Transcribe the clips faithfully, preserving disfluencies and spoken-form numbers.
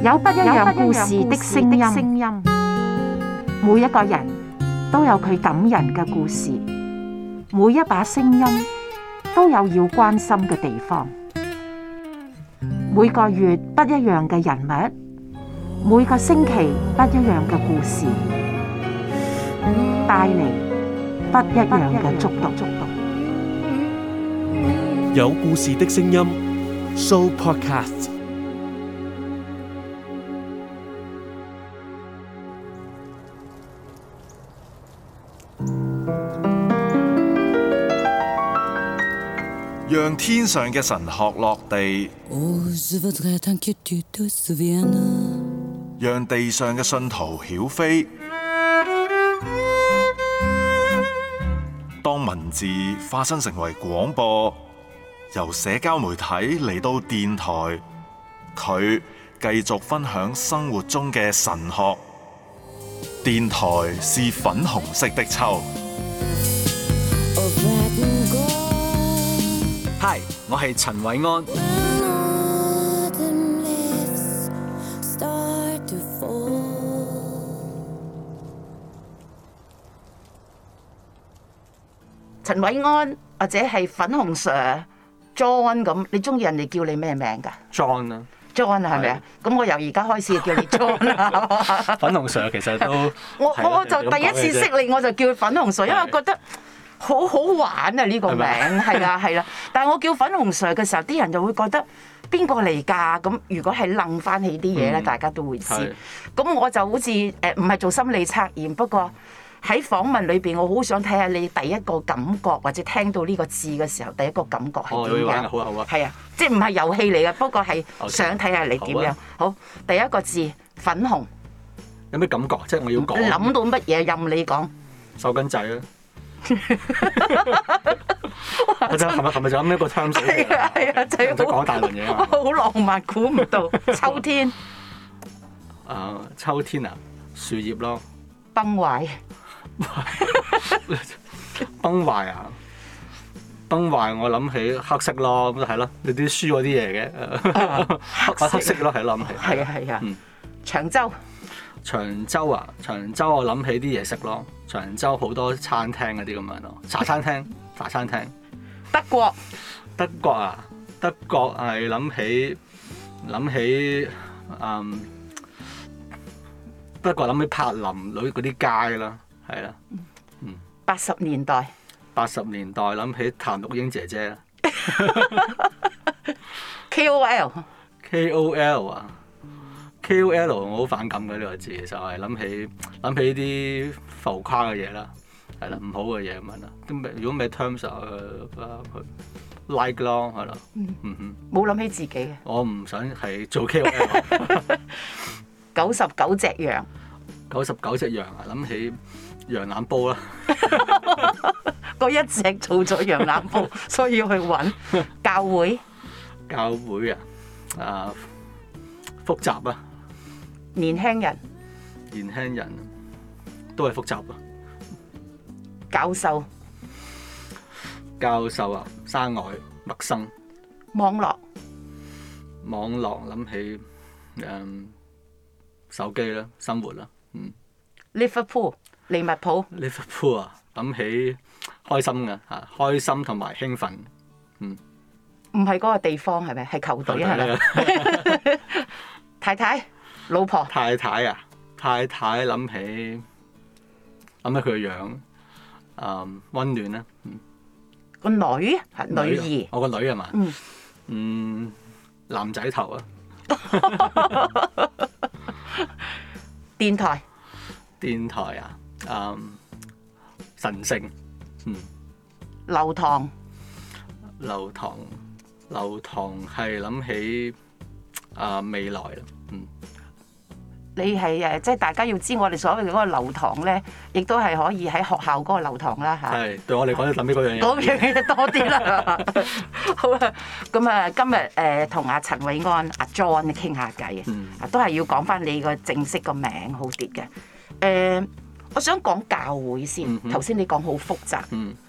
有不一樣故事的聲音，每一個人都有佢感人嘅故事，每一把聲音都有要關心嘅地方。每個月不一樣嘅人物，每個星期不一樣嘅故事，帶嚟不一樣嘅觸動。 有故事的聲音 Show Podcast。 讓天上嘅神學落地，讓地上嘅信徒曉飛。當文字化身成為廣播，由社交媒體嚟到電台，佢繼續分享生活中嘅神學。電台是粉紅色的秋。 Hi， 我係陳偉安。 陳偉安或者係粉紅 Sir John 咁，你中意人哋叫你咩名㗎 John 啊 ？John 啊，係咪啊？咁我由而家開始叫你 John 啊。 粉紅 Sir 其實都我我就第一次識你，我就叫粉紅 Sir，因為我覺得好好玩啊！呢個名係啦係啦，但係我叫粉紅 Sir 嘅時候，啲人就會覺得邊個嚟㗎？咁如果係諗翻起啲嘢咧，大家都會知。咁我就好似誒唔係做心理測驗，不過喺訪問裏邊，我好想睇下你第一個感覺，或者聽到呢個字嘅時候，第一個感覺係點樣？ 好啊好啊， 係啊，即係唔係遊戲嚟嘅，不過係想睇下你點樣。好，第一個字粉紅， 有咩感覺？即係我要講。 諗到乜嘢任你講。 手巾仔啊！我就係咪係咪就咁一個 terms？ 係啊係啊，就係講大輪嘢啊！ 好浪漫，估唔到秋天。 啊，秋天啊，樹葉咯。 崩壞。 崩壞啊！崩壞，我諗起黑色咯，咁就係咯，你啲書嗰啲嘢嘅，黑黑色咯，係諗起。 係啊係啊。長洲。 長洲啊，長洲我諗起啲嘢食咯，長洲好多餐廳嗰啲咁樣咯，茶餐廳、茶餐廳。 德國。 德國啊，德國係諗起諗起嗯，德國諗起柏林嗰啲街啦，係啦，嗯。 八十年代。 八十年代諗起譚玉英姐姐啦。 K O L。 K O L 啊。K O L 我好反感嘅呢個字，就係諗起諗起啲浮誇嘅嘢啦，係啦，唔好嘅嘢咁樣啦。咁如果咩 terms 啊，佢 like 咯，係啦，嗯哼， 冇諗起自己嘅。我唔想係做 K O L。 九十九隻羊。 九十九隻羊啊，諗起羊腩煲啦。 嗰一隻做咗羊腩煲，所以要去揾教會。 教會啊，啊複雜啊。 年輕人， 年輕人都係複雜啊。 教授， 教授啊，生外陌生。 網絡， 網絡諗起誒、嗯、手機啦，生活啦，嗯。 Liverpool， 利物浦。 Liverpool 啊，諗起開心嘅嚇，開心同埋興奮，嗯。 唔係嗰個地方係咪？係球隊係咪？太太。老婆。 太太啊，太太諗起諗起佢個樣，嗯，溫暖啦，嗯。 個女係女兒。 我個女係嘛？ 嗯。 嗯，男仔頭啊。 電台。 電台啊，嗯，神聖，嗯。 流堂。 流堂，流堂係諗起啊未來啦，嗯。 你係誒，即係大家要知我哋所謂嘅嗰個流堂咧，亦都係可以喺學校嗰個流堂啦嚇。 係，對我嚟講，諗起嗰樣嘢。 嗰樣嘢多啲啦。好啦，咁啊，今日誒同阿陳偉安阿 John 傾下偈， 嗯， 都係要講翻你個正式個名好啲嘅。誒，我想講教會先。頭先你講好複雜。 嗯。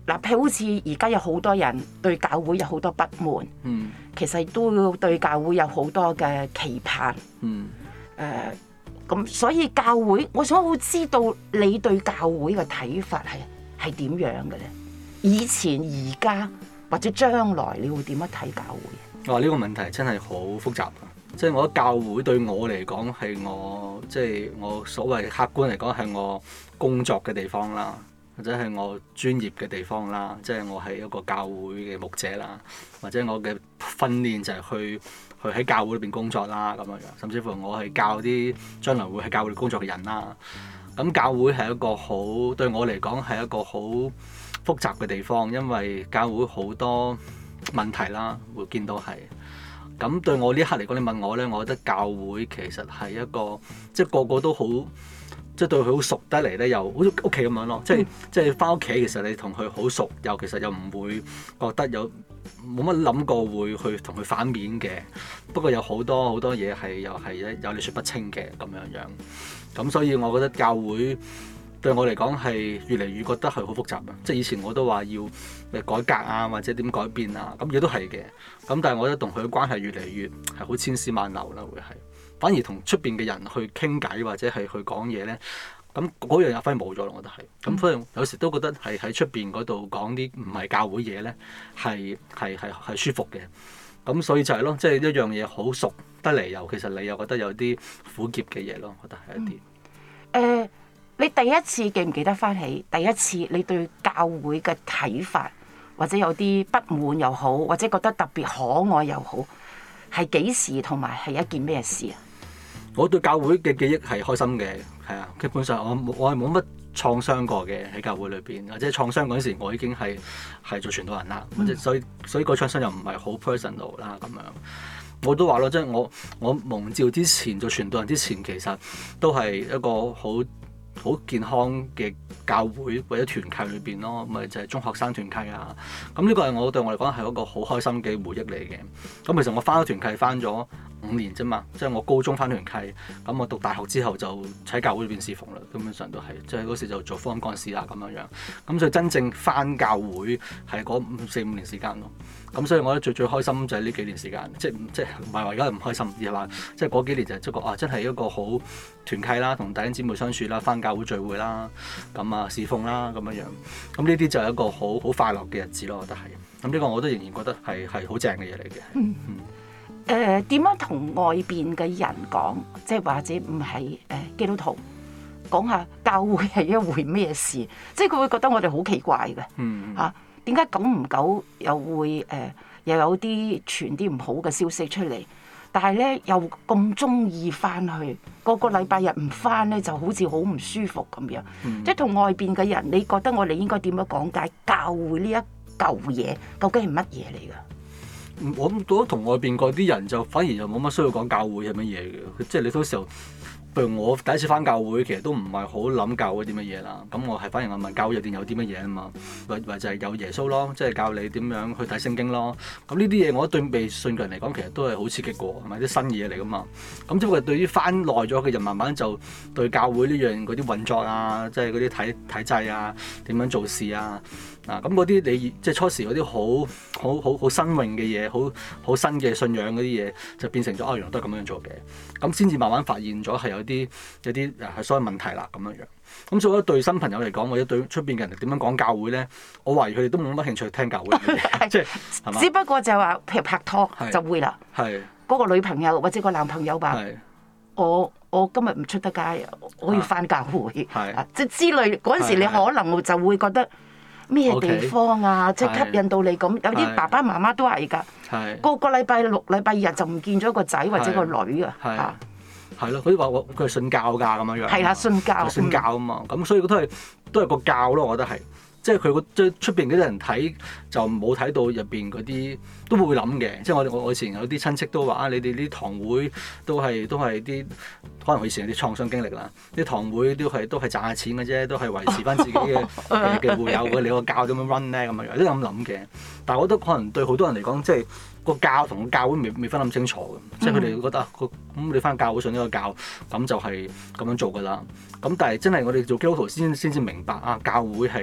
嗱，譬如好似而家有好多人對教會有好多不滿， 嗯其實都對教會有好多嘅期盼。 嗯誒咁，所以教會，我想好知道你對教會嘅睇法係係點樣嘅咧？以前、而家或者將來，你會點樣睇教會？ 哇！呢個問題真係好複雜啊！即係我覺得教會對我嚟講係我即係我所謂客觀嚟講係我工作嘅地方啦，或者係我專業嘅地方啦。即係我係一個教會嘅牧者啦，或者我嘅訓練就係去去喺教會裏邊工作啦咁樣樣。甚至乎我係教啲將來會喺教會工作嘅人啦。咁教會係一個好對我嚟講係一個好複雜嘅地方，因為教會好多問題啦，會見到係。咁對我呢一刻嚟講，你問我咧，我覺得教會其實係一個即係個個都好，即係對佢好熟得嚟咧，又好似屋企咁樣咯。即係即係翻屋企，其實你同佢好熟，又其實又唔會覺得有冇乜諗過會去同佢反面嘅。不過有好多好多嘢係又係有理説不清嘅咁樣樣。咁所以我覺得教會對我嚟講係越嚟越覺得係好複雜啊！即係以前我都話要誒改革啊，或者點改變啊，咁亦都係嘅。咁但係我覺得同佢嘅關係越嚟越係好千絲萬縷啦，會係反而同出邊嘅人去傾偈或者係去講嘢咧，咁嗰樣嘢反而冇咗咯。我覺得係咁，所以有時都覺得係喺出邊嗰度講啲唔係教會嘢咧，係係係係舒服嘅。咁所以就係咯，即係一樣嘢好熟得嚟，又其實你又覺得有啲苦澀嘅嘢咯，我覺得係一啲誒。 嗯呃你第一次記唔記得翻起第一次你對教會嘅睇法，或者有啲不滿又好，或者覺得特別可愛又好，係幾時同埋係一件咩事啊？ 我對教會嘅記憶係開心嘅，係啊，基本上我我係冇乜創傷過嘅喺教會裏邊，或者創傷嗰陣時我已經係係做傳道人啦，或者所以所以個創傷又唔係好 personal 啦咁樣。我都話咯，即係我我蒙召之前做傳道人之前，其實都係一個好好健康嘅教會或者團契裏邊咯，咪就係中學生團契啊。咁呢個係我對我嚟講係一個好開心嘅回憶嚟嘅。咁其實我翻咗團契翻咗五年啫嘛，即係我高中翻團契，咁我讀大學之後就喺教會裏邊侍奉啦。基本上都係，即係嗰時就做福音幹事啦咁樣樣。咁所以真正翻教會係嗰四五年時間咯。咁所以我覺得最最開心就係呢幾年時間，即係即係唔係話而家唔開心，而係話即係嗰幾年就係一個啊真係一個好團契啦，同弟兄姊妹相處啦，翻教會聚會啦，咁啊侍奉啦咁樣樣。咁呢啲就係一個好好快樂嘅日子咯，我覺得係。咁呢個我都仍然覺得係係好正嘅嘢嚟嘅。嗯嗯。 誒點樣同外邊嘅人講，即係或者唔係誒基督徒講下教會係一回咩事？即係佢會覺得我哋好奇怪嘅。 嗯。 嚇點解久唔久又會誒、呃、又有啲傳啲唔好嘅消息出嚟？但係咧又咁中意翻去，個個禮拜日唔翻咧就好似好唔舒服咁樣。 嗯、 即係同外邊嘅人，你覺得我哋應該點樣講解教會呢一嚿嘢究竟係乜嘢嚟㗎？ 我覺得同外邊嗰啲人就反而就冇乜需要講教會係乜嘢嘅，即係你到時候，譬如我第一次翻教會，其實都唔係好諗教會啲乜嘢啦。咁我係反而我問教會入邊有啲乜嘢啊嘛，或或就係有耶穌咯，即係教你點樣去睇聖經咯。咁呢啲嘢我覺得對未信嘅人嚟講，其實都係好刺激過，係咪啲新嘢嚟噶嘛？咁只不過對於翻耐咗嘅人，慢慢就對教會呢樣嗰啲運作啊，即係嗰啲體體制啊，點樣做事啊。嗱，咁嗰啲你即係初時嗰啲好好好好新穎嘅嘢，好好新嘅信仰嗰啲嘢，就變成咗哦，原來都係咁樣做嘅。咁先至慢慢發現咗係有啲有啲誒係所謂問題啦咁樣樣。咁所以我覺得對新朋友嚟講，或者對出邊嘅人點樣講教會咧，我懷疑佢哋都冇乜興趣聽教會嘅嘢，即係係嘛？ 只不過就係話，譬如拍拖就會啦， 係嗰個女朋友或者個男朋友吧，我我今日唔出得街，我要翻教會， 係即係之類嗰陣時，你可能就會覺得。咩地方啊？即係吸引到你咁，有啲爸爸媽媽都係㗎。個個禮拜六、禮拜日就唔見咗個仔或者個女啊。係係咯，佢話佢係信教㗎咁樣樣。 係啦，信教。 信教啊嘛，咁所以都係都係個教咯，我覺得係。即係佢個即係出邊嗰啲人睇就冇睇到入邊嗰啲都會諗嘅。即係我我我以前有啲親戚都話啊，你哋啲堂會都係都係啲可能我以前有啲創傷經歷啦。啲堂會都係都係賺下錢嘅啫，都係維持翻自己嘅嘅嘅會友嘅。你個教點樣 run 咧咁樣樣，都咁諗嘅。但係我覺得可能對好多人嚟講，即係個教同個教會未未分咁清楚嘅。即係佢哋覺得啊，咁你翻教會信呢個教，咁就係咁樣做㗎啦。咁但係真係我哋做基督徒先先至明白啊，教會係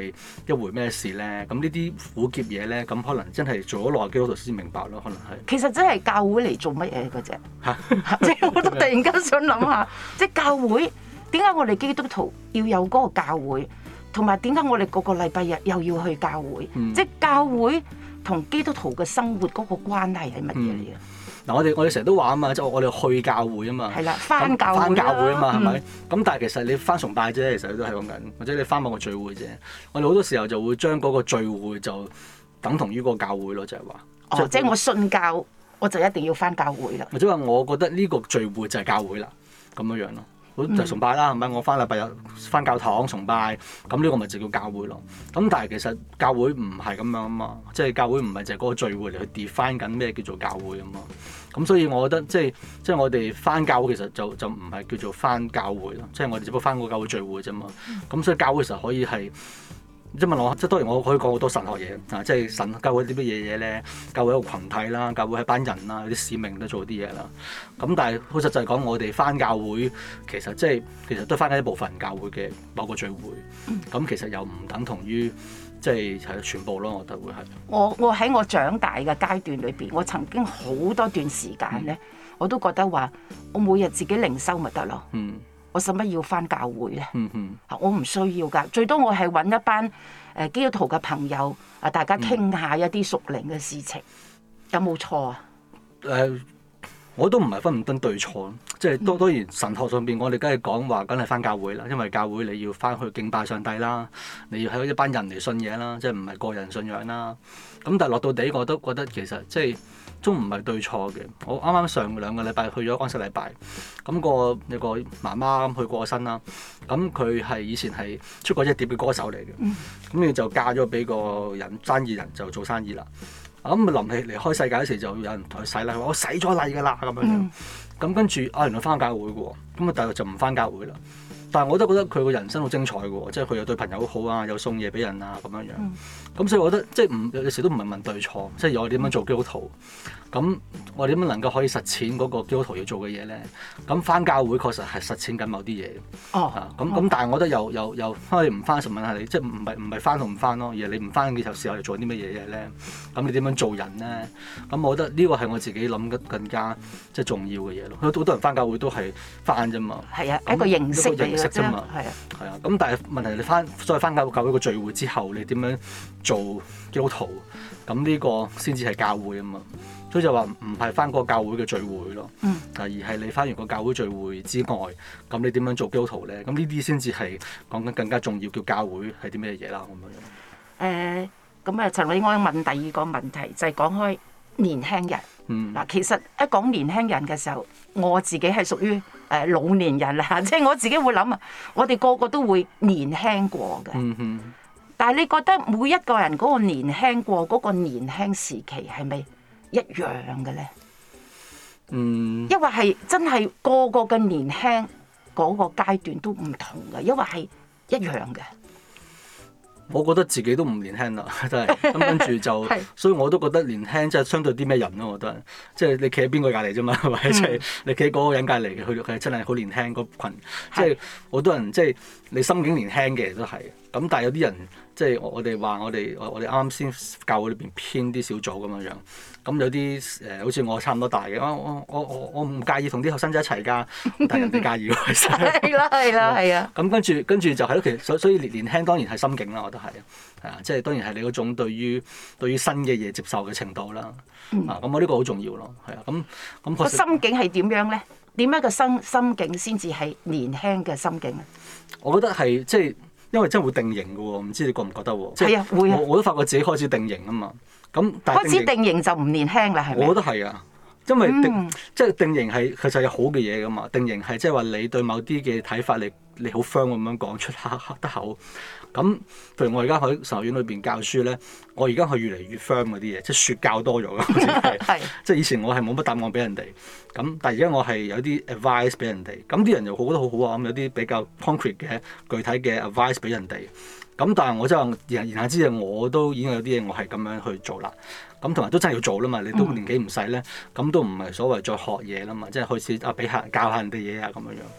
一回咩事咧？咁呢啲苦澀嘢咧，咁可能真係做咗耐基督徒先明白咯，可能係。 其實真係教會嚟做乜嘢嘅啫？即係我都突然間想諗下，即係教會點解我哋基督徒要有嗰個教會，同埋點解我哋個個禮拜日又要去教會？ 嗯、 即係教會同基督徒嘅生活嗰個關係係乜嘢嚟嘅？ 嗱、嗯，我哋我哋成日都話啊嘛，即係我哋去教會啊嘛， 係啦，翻教會翻教會啊嘛，係咪、 嗯？ 咁但係其實你翻崇拜啫，其實都係講緊，或者你翻某個聚會啫。我哋好多時候就會將嗰個聚會就等同於個教會咯，就係話。 哦，即係我信教，我就一定要翻教會啦。 或者話我覺得呢個聚會就係教會啦，咁樣樣咯。好就係崇拜啦，係咪？我翻禮拜日翻教堂崇拜，咁呢個咪就叫教會咯。咁但係其實教會唔係咁樣啊嘛，即係教會唔係就係嗰個聚會嚟去 define 緊咩叫做教會啊嘛。咁所以我覺得即係即係我哋翻教會其實就就唔係叫做翻教會咯，即係我哋只不過翻個教會聚會啫嘛。咁所以教會其實可以係。即係問我，即係當然我可以講好多神學嘢啊！即係神教會啲乜嘢嘢咧？教會一個群體啦，教會係班人啦，有啲使命都做啲嘢啦。咁但係好實際講，我哋翻教會其實即係其實都翻緊一部分教會嘅某個聚會。咁其實又唔等同於即係係全部咯，我覺得會係。我我喺我長大嘅階段裏邊，我曾經好多段時間咧，我都覺得話我每日自己靈修咪得咯。嗯。我使乜要翻教會咧？嗯嗯、我唔需要㗎，最多我係揾一班誒基督徒嘅朋友啊，大家傾下一啲屬靈嘅事情，有冇錯啊？ 誒、呃，我都唔係分唔分對錯，即係當當然神學上邊，我哋梗係講話，梗係翻教會啦，因為教會你要翻去敬拜上帝啦，你要喺一班人嚟信嘢啦，即係唔係個人信仰啦。咁但係落到地，我都覺得其實即係。都唔係對錯嘅。我啱啱上兩個禮拜去咗安息禮拜，咁、那個有個媽媽去過身啦。咁佢係以前係出過一碟嘅歌手嚟嘅，咁佢、嗯、就嫁咗俾個人生意人就做生意啦。咁臨起離開世界嗰時就有人同佢洗禮，話我洗咗禮㗎啦咁樣樣。咁、嗯、跟住啊，原來翻教會嘅喎，咁啊但係就唔翻教會啦。但係我都覺得佢個人生好精彩嘅喎，即係佢又對朋友好啊，又送嘢俾人啊咁樣樣。咁、嗯、所以我覺得即係唔有時都唔係問對錯，即係我點樣做基督徒。咁我點樣能夠可以實踐嗰個基督徒要做嘅嘢咧？咁翻教會確實係實踐緊某啲嘢。哦。咁咁、啊，但係我覺得又又又可以唔翻，就問下你，即係唔係唔係翻同唔翻咯？而係你唔翻嘅時候，你做啲乜嘢嘢咧？咁你點樣做人咧？咁我覺得呢個係我自己諗得更加即係重要嘅嘢咯。好多人翻教會都係翻啫嘛。係啊， 那一個形式嚟嘅啫嘛。係啊。係啊。咁但係問題你翻再翻教教會個聚會之後，你點樣做基督徒？咁呢個先至係教會啊嘛。所以就話唔係翻嗰個教會嘅聚會咯，嗯、而係你翻完個教會聚會之外，咁你點樣做基督徒咧？咁呢啲先至係講緊更加重要，叫教會係啲咩嘢啦咁樣。 誒，咁啊，陳韋安問第二個問題就係、是、講開年輕人。嗱、嗯，其實一講年輕人嘅時候，我自己係屬於誒老年人啦，即係我自己會諗啊，我哋個個都會年輕過嘅。嗯、哼但係你覺得每一個人嗰個年輕過嗰個年輕時期係咪一樣嘅咧？嗯，因為係真係個個嘅年輕嗰個階段都唔同嘅，因為係一樣嘅。 我覺得自己都唔年輕啦，真係咁跟住就，是所以我都覺得年輕即係相對啲咩人咯？我覺得即係你企喺邊個隔離啫嘛，係咪？即係你企喺嗰個人隔離嘅，佢佢真係好年輕嗰羣，即係好多人即係你心境年輕嘅都係。咁但係有啲人即係我哋話我哋我哋啱啱先教會裏邊編啲小組咁樣樣，咁有啲誒、呃、好似我差唔多大嘅，我我我我唔介意同啲後生仔一齊㗎，但係人哋介意喎，其實係啦係啦係啊。咁跟住跟住就係咯，其實所所以年年輕當然係心境啦，我覺得係係啊，即係當然係你嗰種對於對於新嘅嘢接受嘅程度啦。嗯、啊，咁我呢個好重要咯，係啊，咁咁個心境係點樣咧？點樣個心心境先至係年輕嘅心境啊？ 我覺得係即係。因為真係會定型嘅喎，唔知你覺唔覺得喎？ 係啊，會啊！ 我我都發覺自己開始定型啊嘛。咁但係開始定型就唔年輕啦，係咪？ 我覺得係啊，因為定、嗯、即係定型係其實有好嘅嘢噶嘛。定型係即係話你對某啲嘅睇法，你你好 firm 咁樣講出黑黑得口。咁譬如我而家喺神學院裏邊教書咧，我而家係越嚟越 firm 嗰啲嘢，即係説教多咗嘅。係即係以前我係冇乜答案俾人哋，咁但係而家我係有啲 advice 俾人哋，咁啲人又好覺得好好啊。咁有啲比較 concrete 嘅具體嘅 advice 俾人哋，咁但係我真係言言下之意，我都已經有啲嘢我係咁樣去做啦。咁同埋都真係要做啦嘛，你都年紀唔細咧，咁都唔係所謂再學嘢啦嘛，即係開始啊俾下教下人哋嘢啊咁樣樣。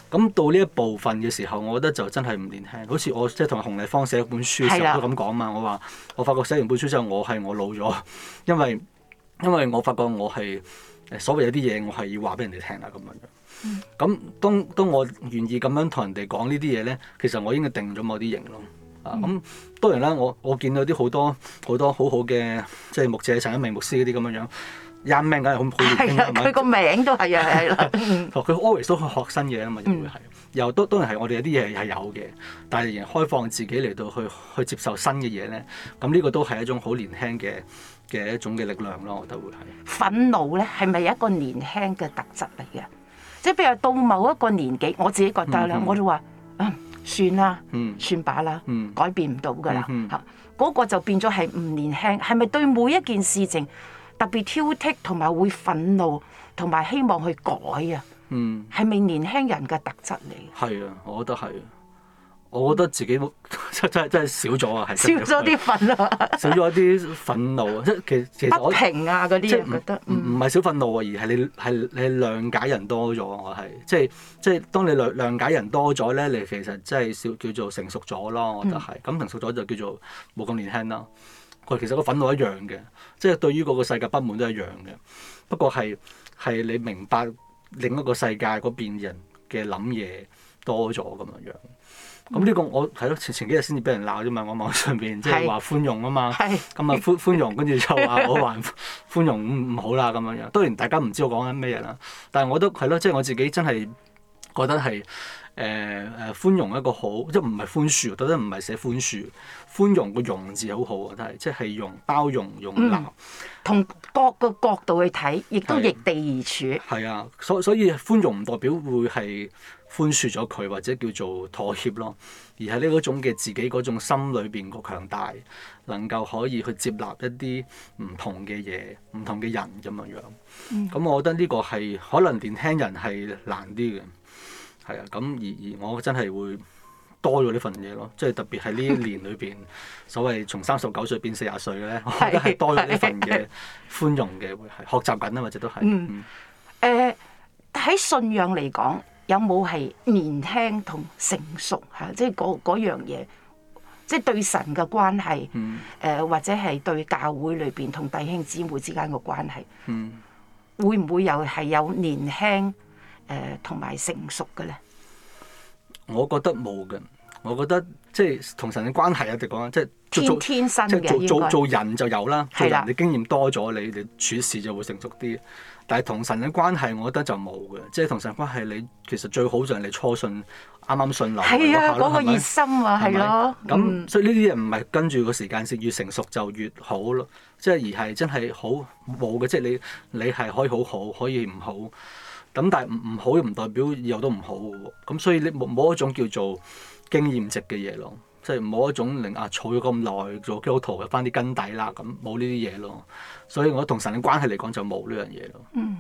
咁到呢一部分嘅時候，我覺得就真係唔年輕。好似我即係同洪麗芳寫一本書嘅時候都咁講嘛。我話我發覺寫完本書之後，我係我老咗，因為因為我發覺我係所謂有啲嘢我係要話俾人哋聽啦咁樣。咁、嗯、當當我願意咁樣同人哋講呢啲嘢咧，其實我已經定咗某啲型咯。啊咁、嗯、當然啦，我我見到啲好多好多好好嘅即係牧者陳一鳴牧師嗰啲咁樣樣。一名梗係好好年輕啊！ 佢個名都係啊，係啦。 佢 always 都去學新嘢啊嘛，又會係，又都當然係我哋有啲嘢係有嘅，但係仍然開放自己嚟到去去接受新嘅嘢咧。咁呢個都係一種好年輕嘅嘅一種嘅力量咯，我覺得會係。 憤怒咧係咪一個年輕嘅特質嚟嘅？即係譬如到某一個年紀，我自己覺得咧，嗯、哼我都話啊，算啦，嗯、算罷啦，嗯、改變唔到㗎啦嚇。嗰、嗯哼嗰個就變咗係唔年輕，係咪對每一件事情特別挑剔同埋會憤怒同埋希望去改啊？嗯，係咪年輕人嘅特質嚟？ 係啊，我覺得係。我覺得自己真真真係少咗啊，係少咗啲憤怒， 少咗啲憤怒啊！即係其其實我不平啊嗰啲，覺得唔唔係少憤怒啊，而係你係你諒解人多咗。我係即係即係當你諒諒解人多咗咧，你其實真係少叫做成熟咗咯。我覺得係咁、嗯、成熟咗就叫做冇咁年輕啦。佢其實個憤怒一樣嘅，即係對於嗰個世界不滿都一樣嘅。不過係係你明白另一個世界嗰邊人嘅諗嘢多咗咁樣樣。咁呢、嗯、個我係咯，前前幾日先至俾人鬧啫嘛，我網上邊即係話寬容啊嘛，咁啊寬寬容，跟住就話我話寬容唔唔好啦咁樣樣。當然大家唔知我講緊咩嘢啦，但係我都係咯，即係我自己真係覺得係誒誒寬容一個好，即係唔係寬恕，覺得唔係寫寬恕，寬容個容字好好啊，真係即係容包容容納， 同、嗯、各個角度去睇，亦都易地而處。係啊，所所以寬容唔代表會係寬恕咗佢或者叫做妥協咯，而係呢嗰種嘅自己嗰種心裏邊個強大，能夠可以去接納一啲唔同嘅嘢、唔同嘅人咁樣樣。咁、嗯、我覺得呢個係可能年輕人係難啲嘅，係啊。咁而而我真係會多咗呢份嘢咯，即係特別係呢一年裏邊，所謂從三十九歲變四十歲咧，我覺得係多咗呢份嘅寬容嘅，會係學習緊啊，或者都係。嗯。誒喺信仰嚟講，有冇係年輕同成熟嚇？即係嗰嗰樣嘢，即係對神嘅關係，誒、嗯呃、或者係對教會裏邊同弟兄姊妹之間嘅關係，嗯、會唔會又係有年輕誒同埋成熟嘅咧？我覺得冇嘅，我覺得即係同神嘅關係啊，哋講即係天天生嘅，即係做做做人就有啦，做人你經驗多咗，你你處事就會成熟啲。但係同神嘅關係，我覺得就冇嘅，即係同神關係，你其實最好就係你初信，啱啱信流嗰下咯，嗰個熱心啊，係咯。咁所以呢啲嘢唔係跟住個時間線越成熟就越好咯，即係而係真係好冇嘅，即係你你係可以好好，可以唔好。咁但係唔唔好唔代表以後都唔好嘅喎。咁所以你冇冇一種叫做經驗值嘅嘢咯，即係冇一種令啊儲咗咁耐做基督徒有翻啲根底啦，咁冇呢啲嘢咯。所以我同神嘅關係嚟講就冇呢樣嘢咯。嗯，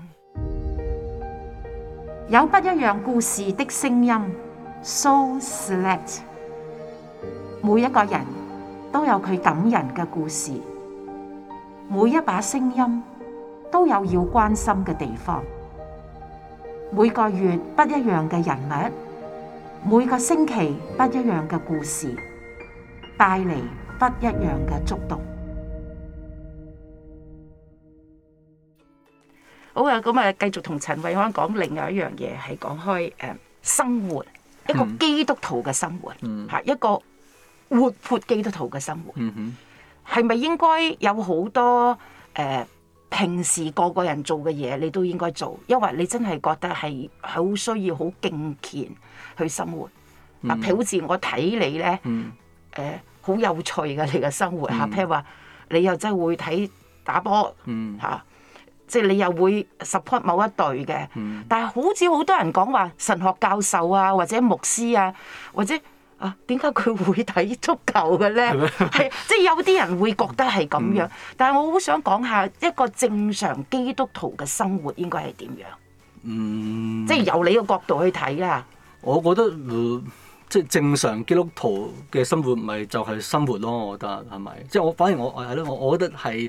有不一樣故事的聲音 ，So Select。每一個人都有佢感人嘅故事，每一把聲音都有要關心嘅地方。每個月不一樣嘅人物，每個星期不一樣嘅故事，帶嚟不一樣嘅觸動。好啊，咁啊，繼續同陳慧康講另外一樣嘢，係講開誒、呃、生活，一個基督徒嘅生活，嚇、嗯、一個活潑基督徒嘅生活，係咪、嗯、哼應該有好多誒、呃、平時個個人做嘅嘢，你都應該做，因為你真係覺得係好需要好敬虔去生活。嗱、嗯，譬如好似我睇你咧，誒好、嗯呃、有趣嘅你嘅生活嚇，譬如話你又真係會睇打波嚇。嗯啊即係你又會 support 某一隊嘅，嗯、但係好似好多人講話神學教授啊，或者牧師啊，或者啊點解佢會睇足球嘅咧？係即係有啲人會覺得係咁樣，嗯、但係我好想講下一個正常基督徒嘅生活應該係點樣？嗯，即係由你個角度去睇啊。我覺得、呃、即係正常基督徒嘅生活咪就係生活咯，我覺得係咪？即係我反而我係咯，我我覺得係。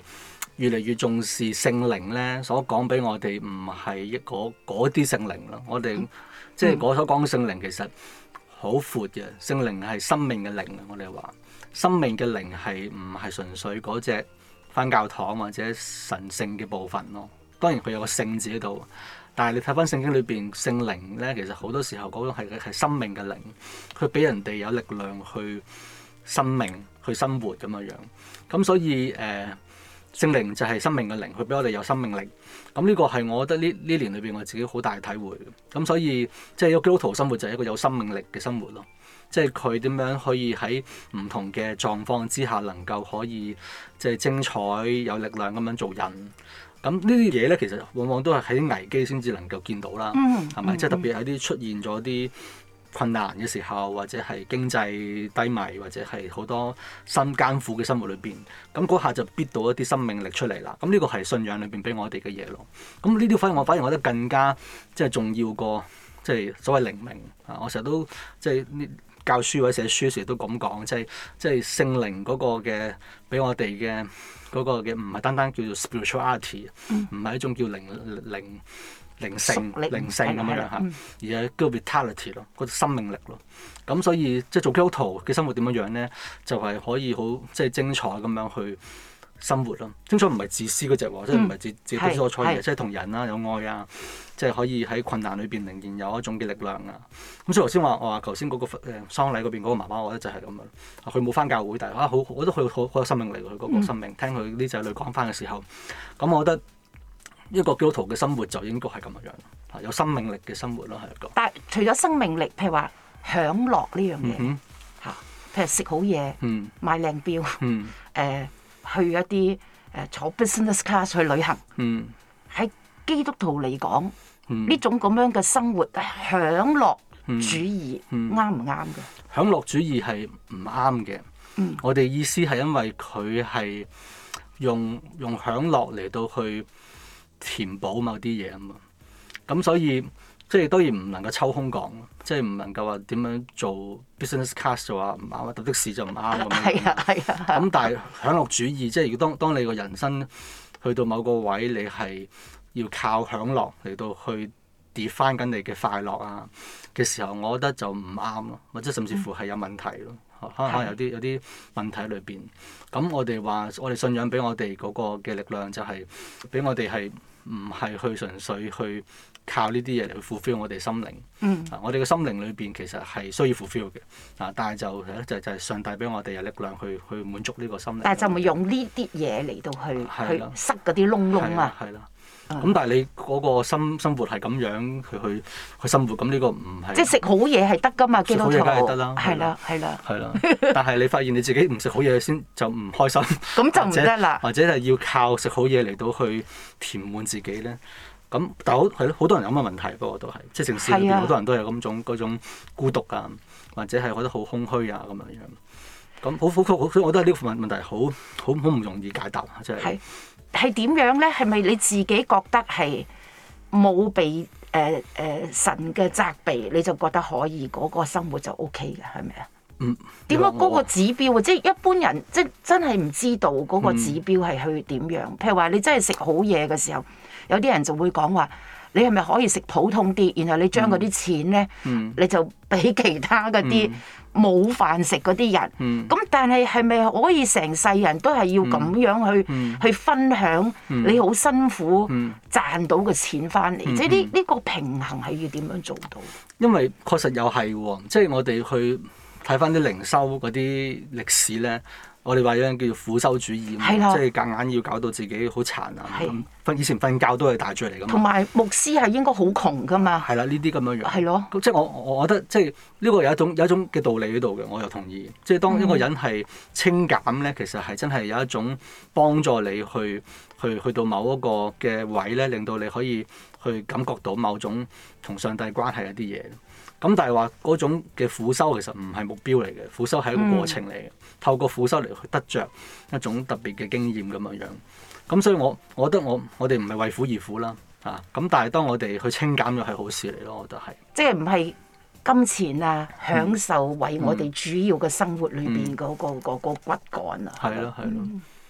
越嚟越重視聖靈咧，所講俾我哋唔係一個嗰啲聖靈咯。我哋、嗯、即係我所講嘅聖靈其實好闊嘅，聖靈係生命嘅靈啊！我哋話生命嘅靈係唔係純粹嗰隻返教堂或者神聖嘅部分咯。當然佢有個聖字喺度，但係你睇翻聖經裏邊聖靈咧，其實好多時候嗰種係係生命嘅靈，佢俾人哋有力量去生命去生活咁樣樣。咁所以誒。呃聖靈就係生命嘅靈，佢俾我哋有生命力。咁呢個係我覺得呢呢年裏邊我自己好大嘅體會。咁所以即係一個基督徒生活就係一個有生命力嘅生活咯。即係佢點樣可以喺唔同嘅狀況之下能夠可以即係精彩有力量咁樣做人。咁呢啲嘢咧，其實往往都係喺危機先至能夠見到啦。係咪？即係特別喺啲出現咗啲困難嘅時候，或者係經濟低迷，或者係好多新艱苦嘅生活裏邊，咁嗰下就逼到一啲生命力出嚟啦。咁呢個係信仰裏邊俾我哋嘅嘢咯。咁呢啲反而我反而我覺得更加即係重要過即係所謂靈命啊！我成日都即係教書或者寫書時都咁講，即係即係聖靈嗰個嘅俾我哋嘅嗰個嘅唔係單單叫做 spirituality，唔係一種叫靈靈。靈性、靈性咁樣嚇，而係叫 vitality 咯，個生命力咯。咁所以即係做基督徒嘅生活點樣樣咧，就係、是、可以好即係精彩咁樣去生活咯。精彩唔係自私嗰隻喎，即係唔係自自己所錯嘅，即係同人啦有愛啊，即係可以喺困難裏邊仍然有一種嘅力量啊。咁所以頭先話我話頭先嗰個誒喪禮嗰邊嗰個媽媽，我覺得就係咁樣。佢冇返教會，但係啊好，我覺得佢好好有生命力佢嗰個生命。嗯、聽佢啲仔女講返嘅時候，咁我覺得。一個基督徒嘅生活就應該係咁樣樣，有生命力嘅生活咯，係一個。但係除咗生命力，譬如話享樂呢樣嘢嚇，嗯、哼譬如食好嘢、嗯、買靚錶、誒、嗯呃、去一啲誒、呃、坐 business class 去旅行，喺、嗯、基督徒嚟講，呢、嗯、種咁樣嘅生活享樂主義啱唔啱嘅？享樂主義係唔啱嘅。嗯、我哋意思係因為佢係用用享樂嚟到去填補某啲嘢啊嘛，咁所以即係當然唔能夠抽空講，即係唔能夠話點樣做 business class 就話唔啱，搭的士就唔啱咁樣。係啊係啊。咁但係享樂主義，即係如果當當你個人生去到某個位，你係要靠享樂嚟到去 define 緊你嘅快樂啊嘅時候，我覺得就唔啱咯，或者甚至乎係有問題咯。可能有啲有啲問題喺裏邊。咁我哋話我哋信仰俾我哋嗰個嘅力量就係俾我哋係唔係去純粹去靠呢啲嘢嚟去 fulfill 我哋心靈。嗯。啊，我哋嘅心靈裏邊其實係需要 fulfill 嘅。啊，但係就係就就係上帝俾我哋有力量去去滿足呢個心靈。但係就咪用呢啲嘢嚟到去去塞嗰啲窿窿啊？係啦。咁、嗯、但係你嗰個生生活係咁樣去去去生活，咁呢個唔係即係食好嘢係得㗎嘛？基督徒食好嘢梗係得啦，係啦係啦。係啦，但係你發現你自己唔食好嘢先就唔開心，咁就唔得啦。或者係要靠食好嘢嚟到去填滿自己咧。咁但係好係咯，好多人有咁嘅問題，不過都係即係城市裏邊好多人都有咁種嗰種孤獨啊，或者係覺得好空虛啊咁樣樣。咁好好好，所以我覺得呢個問問題好好好唔容易解答，即係。係點樣咧？係咪你自己覺得係冇被誒誒、呃呃、神嘅責備，你就覺得可以嗰、嗰個生活就 O K 嘅係咪啊？嗯。點解嗰個指標啊？即係一般人即係真係唔知道嗰個指標係去點樣？嗯、譬如話你真係食好嘢嘅時候，有啲人就會講話。你係咪可以食普通啲，然後你將嗰啲錢咧，嗯、你就俾其他嗰啲冇飯食嗰啲人。咁、嗯、但係係咪可以成世人都係要咁樣去、嗯、去分享你好辛苦賺到嘅錢翻嚟？嗯、即係呢呢個平衡係要點樣做到？因為確實又係喎，即係我哋去睇翻啲靈修嗰啲歷史咧。我哋話有樣叫做苦修主義，的即係夾硬要搞到自己好殘啊！瞓的以前瞓覺都係大罪嚟㗎嘛。同埋牧師係應該好窮㗎嘛。係啦，呢啲咁樣樣。係咯的。即係我我覺得即係呢個有一種有一種嘅道理喺度嘅，我又同意。即係當一個人係清減咧，其實係真係有一種幫助你去去去到某一個嘅位咧，令到你可以去感覺到某種同上帝關係一啲嘢。咁但係話嗰種嘅苦修其實唔係目標嚟嘅，苦修係一個過程嚟嘅，嗯、透過苦修嚟去得着一種特別嘅經驗咁樣樣。咁所以我我覺得我我哋唔係為苦而苦啦，啊！咁但係當我哋去清減咗係好事嚟咯，我覺得係。即係唔係金錢啊，享受為我哋主要嘅生活裏邊嗰個嗰個骨幹啊。係咯係咯。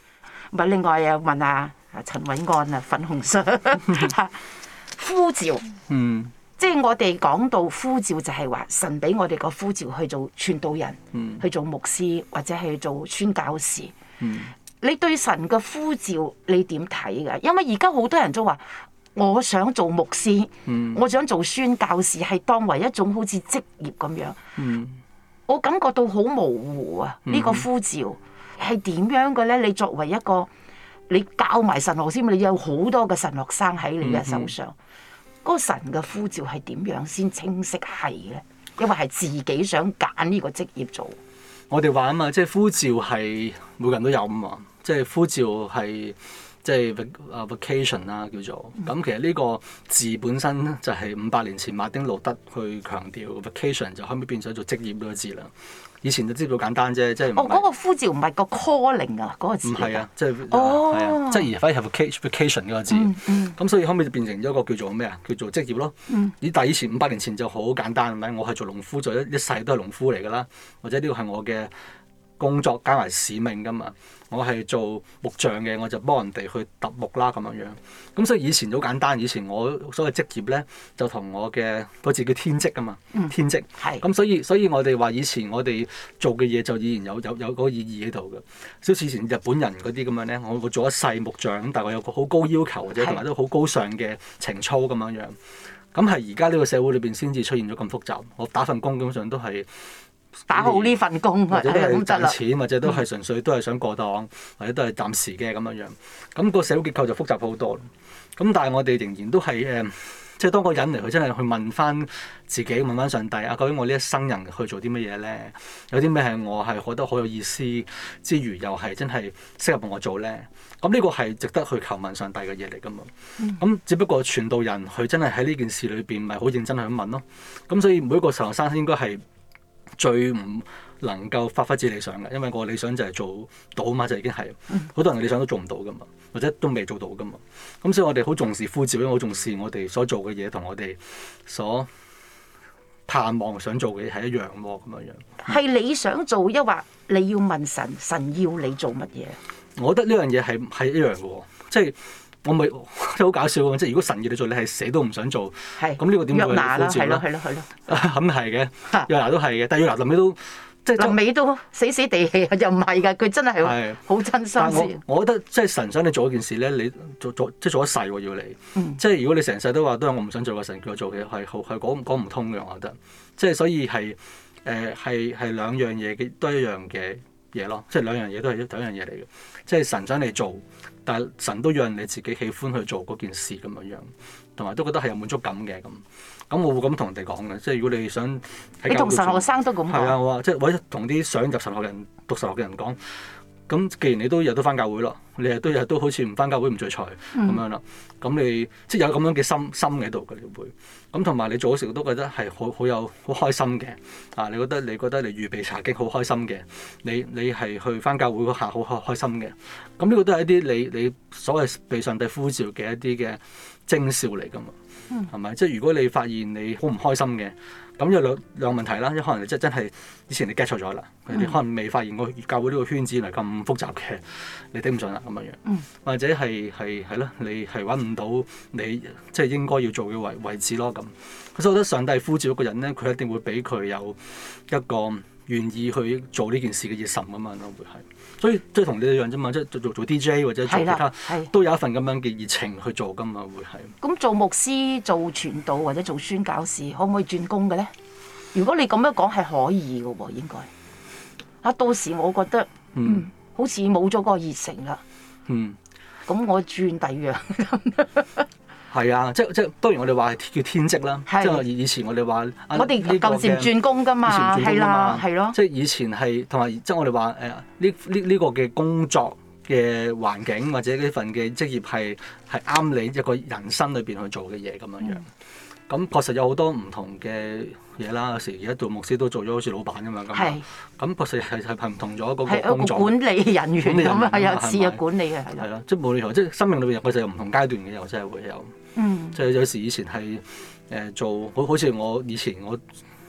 咪另外又問下阿陳韋安啊，粉紅相呼召。 嗯。 即係我哋講到呼召，就係話神俾我哋個呼召去做傳道人， 嗯、 去做牧師或者去做宣教士。 嗯、 你對神嘅呼召你點睇㗎？因為而家好多人都話，我想做牧師， 嗯、 我想做宣教士，係當為一種好似職業咁樣。 嗯、 我感覺到好模糊啊！呢、呢個呼召係點樣嘅咧？你作為一個你教埋神學先，你有好多嘅神學生喺你嘅手上。嗯嗯嗰個神嘅呼召係點樣先清晰係咧？因為係自己想揀呢個職業做。 我哋話啊嘛，即係呼召係每個人都有啊嘛，即係呼召係即係啊 vocation 啦叫做。咁、嗯、其實呢個字本身就係五百年前馬丁路德去強調 vocation，就後尾變咗做職業呢個字啦。以前就知道簡單啫，即係哦嗰、嗰個呼召唔係個 calling 啊，嗰、嗰個字唔係啊，即係哦， 係啊，即係而反而係 vocation 嗰個字。咁、嗯嗯、所以後尾就變成咗一個叫做咩啊？叫做職業咯。 嗯、 但係以前五百年前就好簡單，係咪？我係做農夫，做一一世都係農夫嚟㗎啦，或者呢個係我嘅工作加埋使命㗎嘛。我係做木匠嘅，我就幫人哋去揼木啦咁樣樣。咁所以以前好簡單，以前我所謂職業咧，就同我嘅嗰字叫天職啊嘛， 嗯、 天職。 係。 咁所以所以我哋話以前我哋做嘅嘢就依然有有有嗰個意義喺度嘅。好似以前日本人嗰啲咁樣咧，我會做一世木匠，咁但係我有個好高要求或者同埋都好高尚嘅情操咁樣樣。咁係而家呢個社會裏邊先至出現咗咁複雜。我打份工基本上都係。 打好呢份工， 或者都係賺係錢，或者都係純粹都係想過檔，或者都係暫時嘅咁樣樣。咁個社會結構就複雜好多。咁但係我哋仍然都係誒，即係當個人嚟，佢真係去問翻自己，問翻上帝啊，究竟我呢一生人去做啲乜嘢咧？有啲咩係我係覺得好有意思之餘，又係真係適合我做咧？咁呢個係值得去求問上帝嘅嘢嚟㗎嘛。咁、嗯、只不過傳道人佢真係喺呢件事裏邊，咪好認真去問咯。咁所以每一個神學生應該係最唔能夠發揮自己理想嘅，因為個理想就係做到嘛，就已經係好多人嘅理想都做唔到噶嘛，或者都未做到噶嘛。咁所以我哋好重視呼召，因為好重視我哋所做嘅嘢同我哋所盼望想做嘅嘢係一樣喎，咁樣樣。 係你想做，抑或你要問神，神要你做乜嘢？ 我覺得呢樣嘢係係一樣嘅喎，即係。我咪即係好搞笑喎！即係如果神要你做，你係死都唔想做。係。咁呢個點會呼召咧？ 係咯係咯係咯。 咁係嘅，約拿都係嘅，但係約拿臨尾都即係臨尾都死死地氣，又唔係㗎，佢真係好真心先。 我覺得即係神想你做一件事咧，你做做即係做一世喎要你。嗯、即係如果你成世都話都係我唔想做嘅，神叫我做嘅係好係講講唔通嘅，我覺得。即係所以係誒係係兩樣嘢嘅都一樣嘅嘢咯，即係兩樣嘢都係同一樣嘢嚟嘅。即係神想你做。但係神都讓你自己喜歡去做嗰件事咁樣樣，同埋都覺得係有滿足感嘅咁。咁我會咁同人哋講嘅，即係如果你想你同神學生都咁講。 係啊，我話即係或者同啲想入神學人讀神學嘅人講。咁既然你都日都翻教會咯，你日都日都好似唔翻教會唔聚財咁樣啦。咁、嗯、你即係有咁樣嘅心心喺度嘅，你會咁同埋你做嗰時都覺得係好好有好開心嘅。啊，你覺得你覺得你預備查經好開心嘅，你你係去翻教會嗰下好開開心嘅。咁呢個都係一啲你你所謂被上帝呼召嘅一啲嘅徵兆嚟㗎嘛。係咪、嗯？即係如果你發現你好唔開心嘅。咁有兩兩個問題啦，一可能你真真係以前你 get 錯咗啦，佢哋、嗯、可能未發現個教會呢個圈子原來咁複雜嘅，你頂唔順啦咁樣樣，嗯、或者係係係咯，你係揾唔到你即係應該要做嘅位位置咯咁。所以我覺得上帝呼召一個人咧，佢一定會俾佢有一個願意去做呢件事嘅熱忱咁樣咯，會係。所以即係同你一樣啫嘛，即係做做做 D J 或者做其他，都有一份咁樣嘅熱情去做噶嘛，會係。咁做牧師、做傳道或者做宣教士，可唔可以轉工嘅咧？如果你咁樣講係可以嘅喎，應該。啊，到時我覺得嗯，嗯好似冇咗個熱誠啦。嗯。咁我轉第二樣。 係啊，即即當然我哋話叫天職啦，是即係以前我哋話， 我哋舊時轉工㗎嘛，係啦，係咯。 即係以前係同埋即係我哋話誒呢呢呢個嘅工作嘅環境或者呢份嘅職業係係啱你一個人生裏邊去做嘅嘢咁樣樣。咁、嗯、確實有好多唔同嘅嘢啦，有時而家做牧師都做咗好似老闆咁樣咁。係是。咁確實係係係唔同咗嗰個工作。 係一個管理人員咁啊，有次嘅管理嘅係咯。 係咯，即係無論如何，即係生命裏邊有佢就有唔同階段嘅，又真係會有。嗯，即係有時以前係誒、呃、做好好似我以前我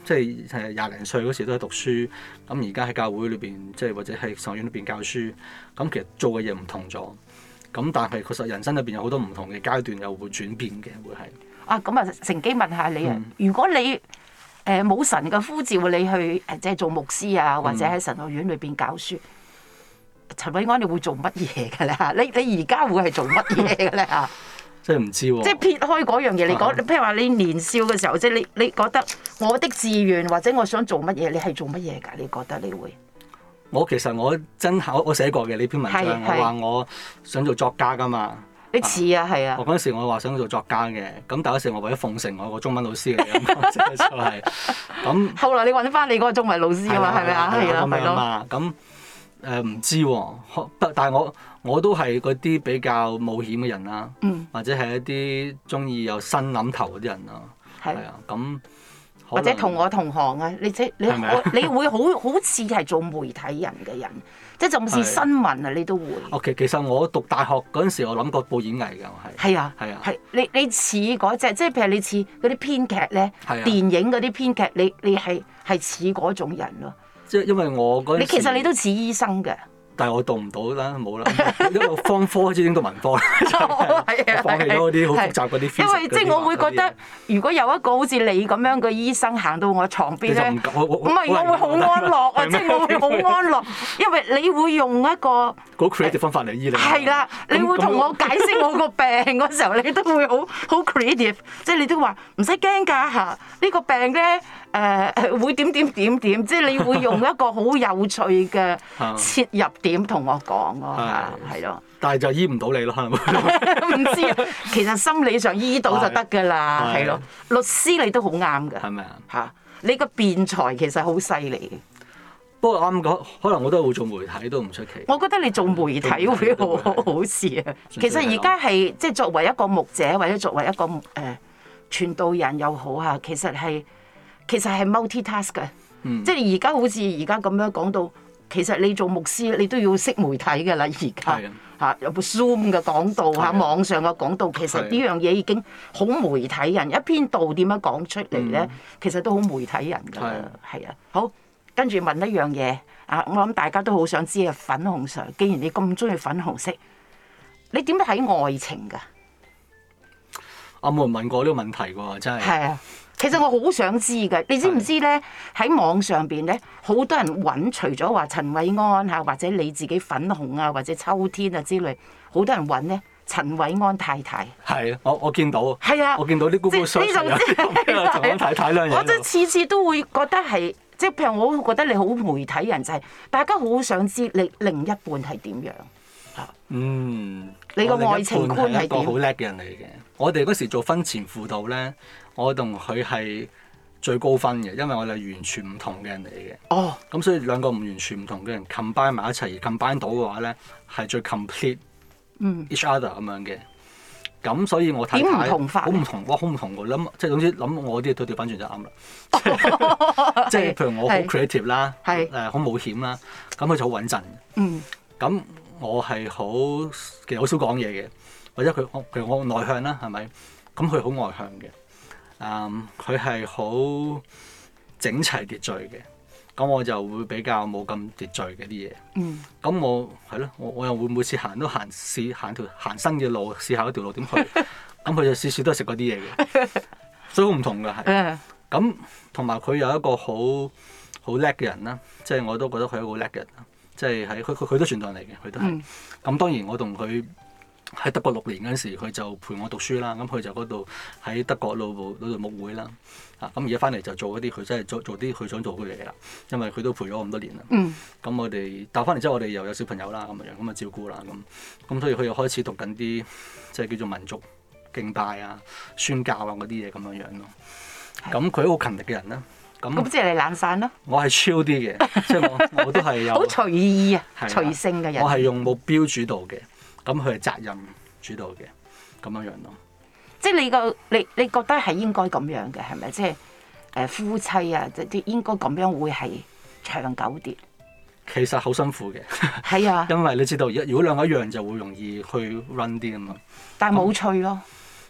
即係係廿零歲嗰時都喺讀書，咁而家喺教會裏邊，即係或者喺神學院裏邊教書，咁其實做嘅嘢唔同咗。咁但係確實人生裏邊有好多唔同嘅階段，又會轉變嘅，會係。 啊，咁啊，乘機問下你啊， 嗯、 如果你誒冇、呃、神嘅呼召，你去誒即係做牧師啊，或者喺神學院裏邊教書，嗯、陳韋安你會做乜嘢嘅咧？你你而家會係做乜嘢嘅咧？嚇！ 即係唔知喎、啊。 即係撇開嗰樣嘢，你講，譬如話你年少嘅時候，即係你你覺得我的志願或者我想做乜嘢，你係做乜嘢㗎？你覺得你會？ 我其實我真係我我寫過嘅呢篇文章，我話我想做作家㗎嘛。 你似啊，係啊！ 我嗰陣時我話想做作家嘅，咁但嗰時我為咗奉承我個中文老師嚟嘅，就係咁。後來你揾翻你嗰個中文老師啊嘛，係咪啊？係啊，係咯。 咁誒唔知喎，但係我我都係嗰啲比較冒險嘅人啦， 嗯、 或者係一啲中意有新諗頭嗰啲人啦，係啊，咁。 或者同我同行啊，你即你我你會好好似係做媒體人嘅人，即係就算新聞啊，你都會。 哦，其其實我讀大學嗰陣時，我諗過報演藝㗎，我係。係啊， 係啊。 係你你似嗰隻，即係譬如你似嗰啲編劇咧， 係啊、 電影嗰啲編劇，你你係係似嗰種人咯。 即係因為我嗰陣時。你其實你都似醫生嘅。 但係我讀唔到啦，冇啦，因為方科開始已經讀文科啦，我放棄咗嗰啲好複雜嗰啲。 因為即係我會覺得，如果有一個好似你咁樣嘅醫生行到我床邊咧，唔係我會好安樂啊！即係我會好安樂，因為你會用一個好 creative 方法嚟醫你。 係啦，你會同我解釋我個病嗰時候，你都會好好 creative，即係你都話唔使驚㗎嚇，呢個病咧誒會點點點點，即係你會用一個好有趣嘅切入點同我講咯，係咯。 但係就醫唔到你咯，可能唔知啊。其實心理上醫到就得㗎啦，係咯。律師你都好啱㗎， 係咪啊？ 嚇，你個辯才其實好犀利嘅。 不過啱講，可能我都係會做媒體都唔出奇。 我覺得你做媒體會好好事啊。其實而家係即係作為一個牧者或者作為一個誒傳道人又好啊，其實係其實係 multitask 嘅。即係而家好似而家咁樣講到。其實你做牧師，你都要識媒體㗎啦。而家嚇有部 Zoom 嘅講道嚇，網上嘅講道，其實呢樣嘢已經好媒體人。一篇道點樣講出嚟咧，其實都好媒體人㗎啦。係啊，好，跟住問一樣嘢啊，我諗大家都好想知啊。粉紅 Sir，既然你咁中意粉紅色，你點睇愛情㗎？ 我冇人問過呢個問題喎，真係。係啊。 其實我好想知㗎，你知唔知咧？喺網上邊咧，好多人揾，除咗話陳韋安嚇，或者你自己粉紅啊，或者秋天啊之類，好多人揾咧陳韋安太太。係啊，我我見到。係啊， 我見到啲 Google search 有陳韋安太太兩樣。 我真係次次都會覺得係，即係譬如我覺得你好媒體人，就係大家好想知你另一半係點樣嚇。 嗯， 你個愛情觀係點？ 係一個好叻嘅人嚟嘅。我哋嗰時做婚前輔導咧。我同佢係最高分嘅，因為我哋係完全唔同嘅人嚟嘅。 哦， 咁所以兩個唔完全唔同嘅人 combine 埋一齊，而 combine 到嘅話咧，係最 complete each other 咁樣嘅。咁所以我太太好唔同，哇，好唔同㗎。諗即係總之諗我啲嘢都調翻轉就啱啦。即係譬如我好 creative 啦，誒好冒險啦，咁佢就好穩陣。嗯。咁我係好其實好少講嘢嘅，或者佢譬如我內向啦，係咪？咁佢好外向嘅。嗯，佢係好整齊秩序嘅，咁我就會比較冇咁秩序嘅啲嘢。嗯，咁我係咯，我我又會每次行都行試行條行新嘅路，試下一條路點去。咁佢就次次都係食嗰啲嘢嘅，所以好唔同㗎係。咁同埋佢有一個好好叻嘅人啦，即係我都覺得佢係一個好叻嘅人啦。即係喺佢佢佢都傳道人嚟嘅，佢都係。咁、嗯、當然我同佢。喺德國六年嗰陣時，佢就陪我讀書啦。咁佢就嗰度喺德國路部嗰度牧會啦。啊，咁而家翻嚟就做一啲佢真係做做啲佢想做嘅嘢啦。因為佢都陪咗我咁多年啦。嗯。咁我哋但翻嚟之後，我哋又有小朋友啦，咁樣咁啊照顧啦，咁咁所以佢又開始讀緊啲即係叫做民族敬拜啊、宣教啊嗰啲嘢咁樣樣咯。咁佢好勤力嘅人啦。咁咁即係你懶散咯。 我係超啲嘅，即係我我都係有。 好隨意啊，隨性嘅人。 我係用目標主導嘅。咁佢係責任主導嘅，咁樣樣咯。 即係你個你你覺得係應該咁樣嘅係咪？即係誒夫妻啊，即係應該咁樣會係長久啲。 其實好辛苦嘅。 係啊。 因為你知道，如果兩個一樣就會容易去 run 啲啊嘛。 但係冇趣咯。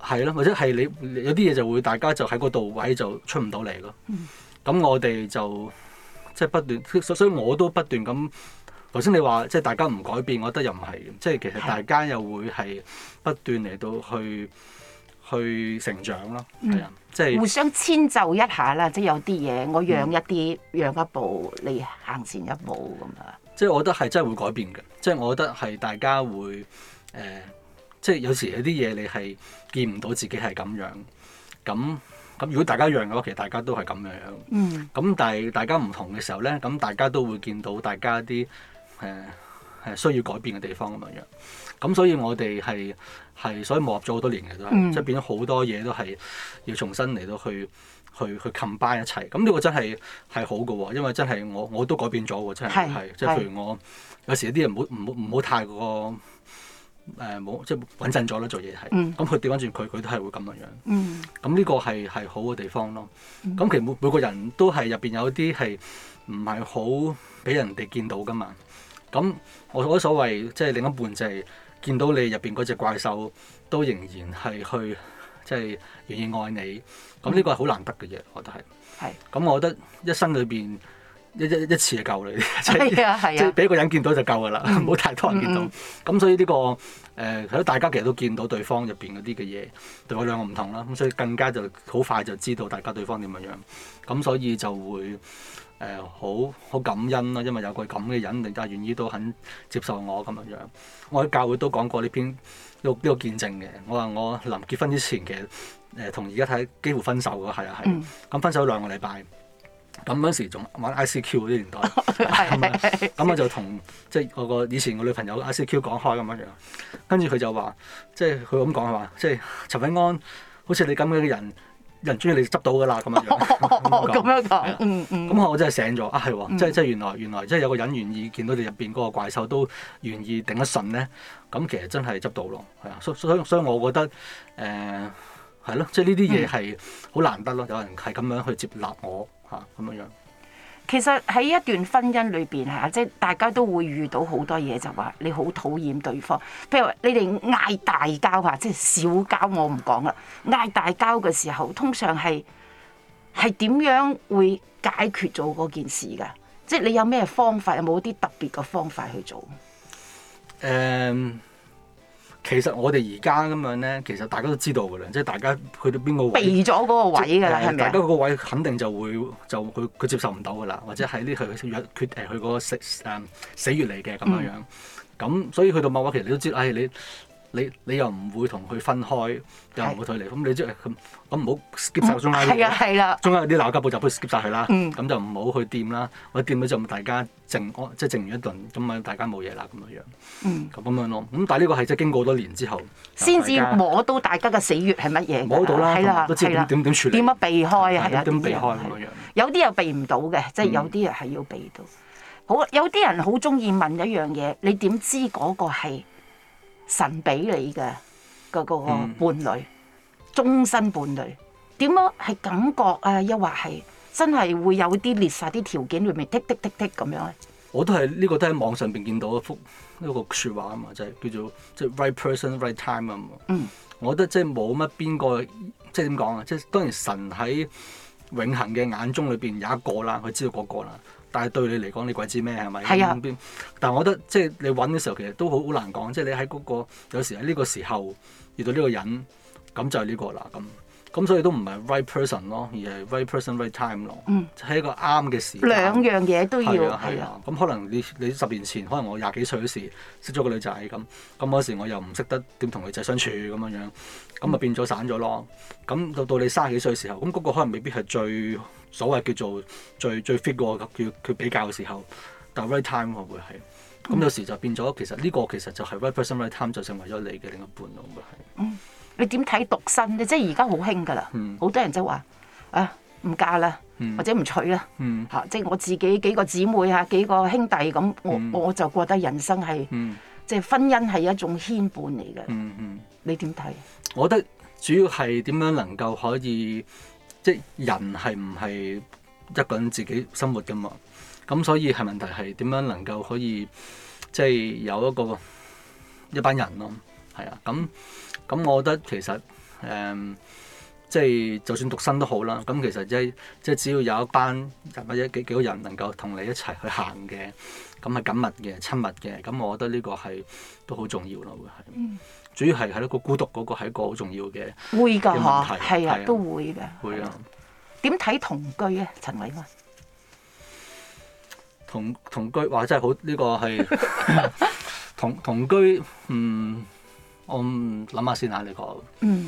係咯，或者係你有啲嘢就會大家就喺嗰度位就出唔到嚟咯。咁、嗯、我哋就即係不斷，所以我都不斷咁。頭先你話即係大家唔改變，我覺得又唔係，即係其實大家又會係不斷嚟到去去成長咯。係啊、嗯，即係互相遷就一下啦。即係有啲嘢我讓一啲，嗯、讓一步，你行前一步咁啊。 即係我覺得係真係會改變嘅。即係我覺得係大家會誒。呃即係有時有啲嘢你係見唔到自己係咁樣，咁咁如果大家一樣嘅話，其實大家都係咁樣樣。嗯。咁但係大家唔同嘅時候咧，咁大家都會見到大家啲誒誒需要改變嘅地方咁樣樣。咁所以我哋係係所以磨合咗好多年嘅都係，嗯、即係變咗好多嘢都係要重新嚟到去去去 combine 一齊。咁呢個真係係好嘅喎，因為真係我我都改變咗喎，真係係即係譬如我有時有啲人唔好唔好唔好太過。誒冇、呃、即係穩陣咗啦，做嘢係。咁佢調翻轉佢，佢都係會咁樣樣。嗯。咁呢個係係好嘅地方咯。咁、嗯、其實每每個人都係入邊有啲係唔係好俾人哋見到噶嘛。咁我我所謂即係另一半就係見到你入邊嗰隻怪獸都仍然係去即係願意愛你。咁呢個係好難得嘅嘢，我覺得係。係、嗯。咁我覺得一生裏邊。一一一次就夠你，即係即係俾一個人見到就夠噶啦，唔好太多人見到。咁、嗯、所以呢、這個誒，係、呃、大家其實都見到對方入邊嗰啲嘅嘢，對我兩個唔同啦。咁所以更加就好快就知道大家對方點樣樣。咁所以就會誒好好感恩啦，因為有個咁嘅人，更加願意都肯接受我咁樣樣。我喺教會都講過呢篇呢、這個呢、這個見證嘅。我話我臨結婚之前嘅誒，同而家睇幾乎分手嘅，係啊係。咁、嗯、分手兩個禮拜。咁嗰時仲玩 I C Q 嗰啲年代，咁我就同即係我個以前個女朋友 I C Q 講開咁樣樣，跟住佢就話，即係佢咁講係話，即係陳偉安，好似你咁嘅人，人中意你執到㗎啦咁樣樣。 咁樣講，嗯嗯。 咁我真係醒咗啊，係喎，即係即係原來原來即係有個人願意見到你入邊嗰個怪獸都願意頂得順咧，咁其實真係執到咯，係啊，所所以所以我覺得誒係咯，即係呢啲嘢係好難得咯，有人係咁樣去接納我。咁樣樣， 其實喺一段婚姻裏邊嚇，即係大家都會遇到好多嘢，就話你好討厭對方。譬如話你哋嗌大交嚇，即係小交我唔講啦。嗌大交嘅時候，通常係係點樣會解決咗嗰件事㗎？即係你有咩方法？有冇啲特別嘅方法去做？ 誒。Um, 其實我哋而家咁樣咧，其實大家都知道㗎啦，即係大家去到邊個位，避咗嗰個位㗎啦，係咪？大家嗰個位肯定就會就佢佢接受唔到㗎啦，或者係呢佢佢約決誒佢嗰個死誒死穴嚟嘅咁樣樣。咁、嗯、所以去到某個其實你都知道，唉、哎、你。你你又唔會同佢分開，又唔會同佢離，咁你即係咁咁唔好 skip 曬中間啲嘢，中間有啲鬧交步驟不如 skip 曬佢啦，咁就唔好去掂啦，或者掂咗就大家靜即係靜完一頓，咁啊大家冇嘢啦咁樣樣，咁咁樣咯。咁但係呢個係即係經過多年之後，先至摸到大家嘅死穴係乜嘢，摸到啦，都知點點點處理，點樣避開啊？係啊，點避開咁樣樣。有啲又避唔到嘅，即係有啲人係要避到。好，有啲人好中意問一樣嘢，你點知嗰個係神俾你嘅嗰個伴侶，終身伴侶點樣係感覺啊？又或係真係會有啲列晒啲條件裏面剔剔剔剔咁樣咧？我都係呢、呢個都喺網上邊見到一幅一個説話啊嘛，就係、是、叫做即係、就是、right person right time 啊嘛。嗯，我覺得即係冇乜邊個即係點講啊？即係當然神喺永恆嘅眼中裏邊有一個啦，佢知道嗰個啦。但係對你嚟講，你鬼知咩係咪？係啊。但係我覺得即係你揾嘅時候，其實都好好難講。即係你喺嗰、嗰個有時喺呢個時候遇到呢個人，咁就係呢個啦。咁咁所以都唔係 right person 咯，而係 right person right time 咯。嗯。喺一個啱嘅時間。兩樣嘢都要。係啊係啊。咁、啊、可能你你十年前，可能我廿幾歲嗰時識咗個女仔咁，咁嗰時我又唔識得點同女仔相處咁樣樣，咁啊變咗散咗咯。咁到到你卅幾歲嘅時候，咁嗰個可能未必係最。所謂叫做最最 fit 個叫佢比較嘅時候，但係 right time 會係咁有時就變咗，其實呢個其實就係 right person right time 就成為咗你嘅另一半咯，會係。嗯，你點睇獨身咧？即係而家好興㗎啦，好、嗯、多人就話啊唔嫁啦，嗯、或者唔娶啦，嚇、嗯啊！即係我自己幾個姊妹嚇幾個兄弟咁，我、嗯、我就覺得人生係、嗯、即係婚姻係一種牽絆嚟嘅。嗯嗯，你點睇？我覺得主要係點樣能夠可以。即係人係唔係一個人自己生活㗎嘛？咁所以係問題係點樣能夠可以即係有一個一班人咯？係啊，咁咁我覺得其實誒，即係就算獨身都好啦。咁其實即係即係只要有一班人或者幾幾個人能夠同你一齊去行嘅，咁係緊密嘅、親密嘅，咁我覺得呢個係都好重要咯，會係。嗯、主要係係一個孤獨嗰個係一個好重要嘅會㗎嗬， 係啊，都會㗎。 會啊。 點睇同居啊，陳偉安？ 同同居話真係好呢、呢個係同同居，嗯，我諗下先嚇你講。嗯，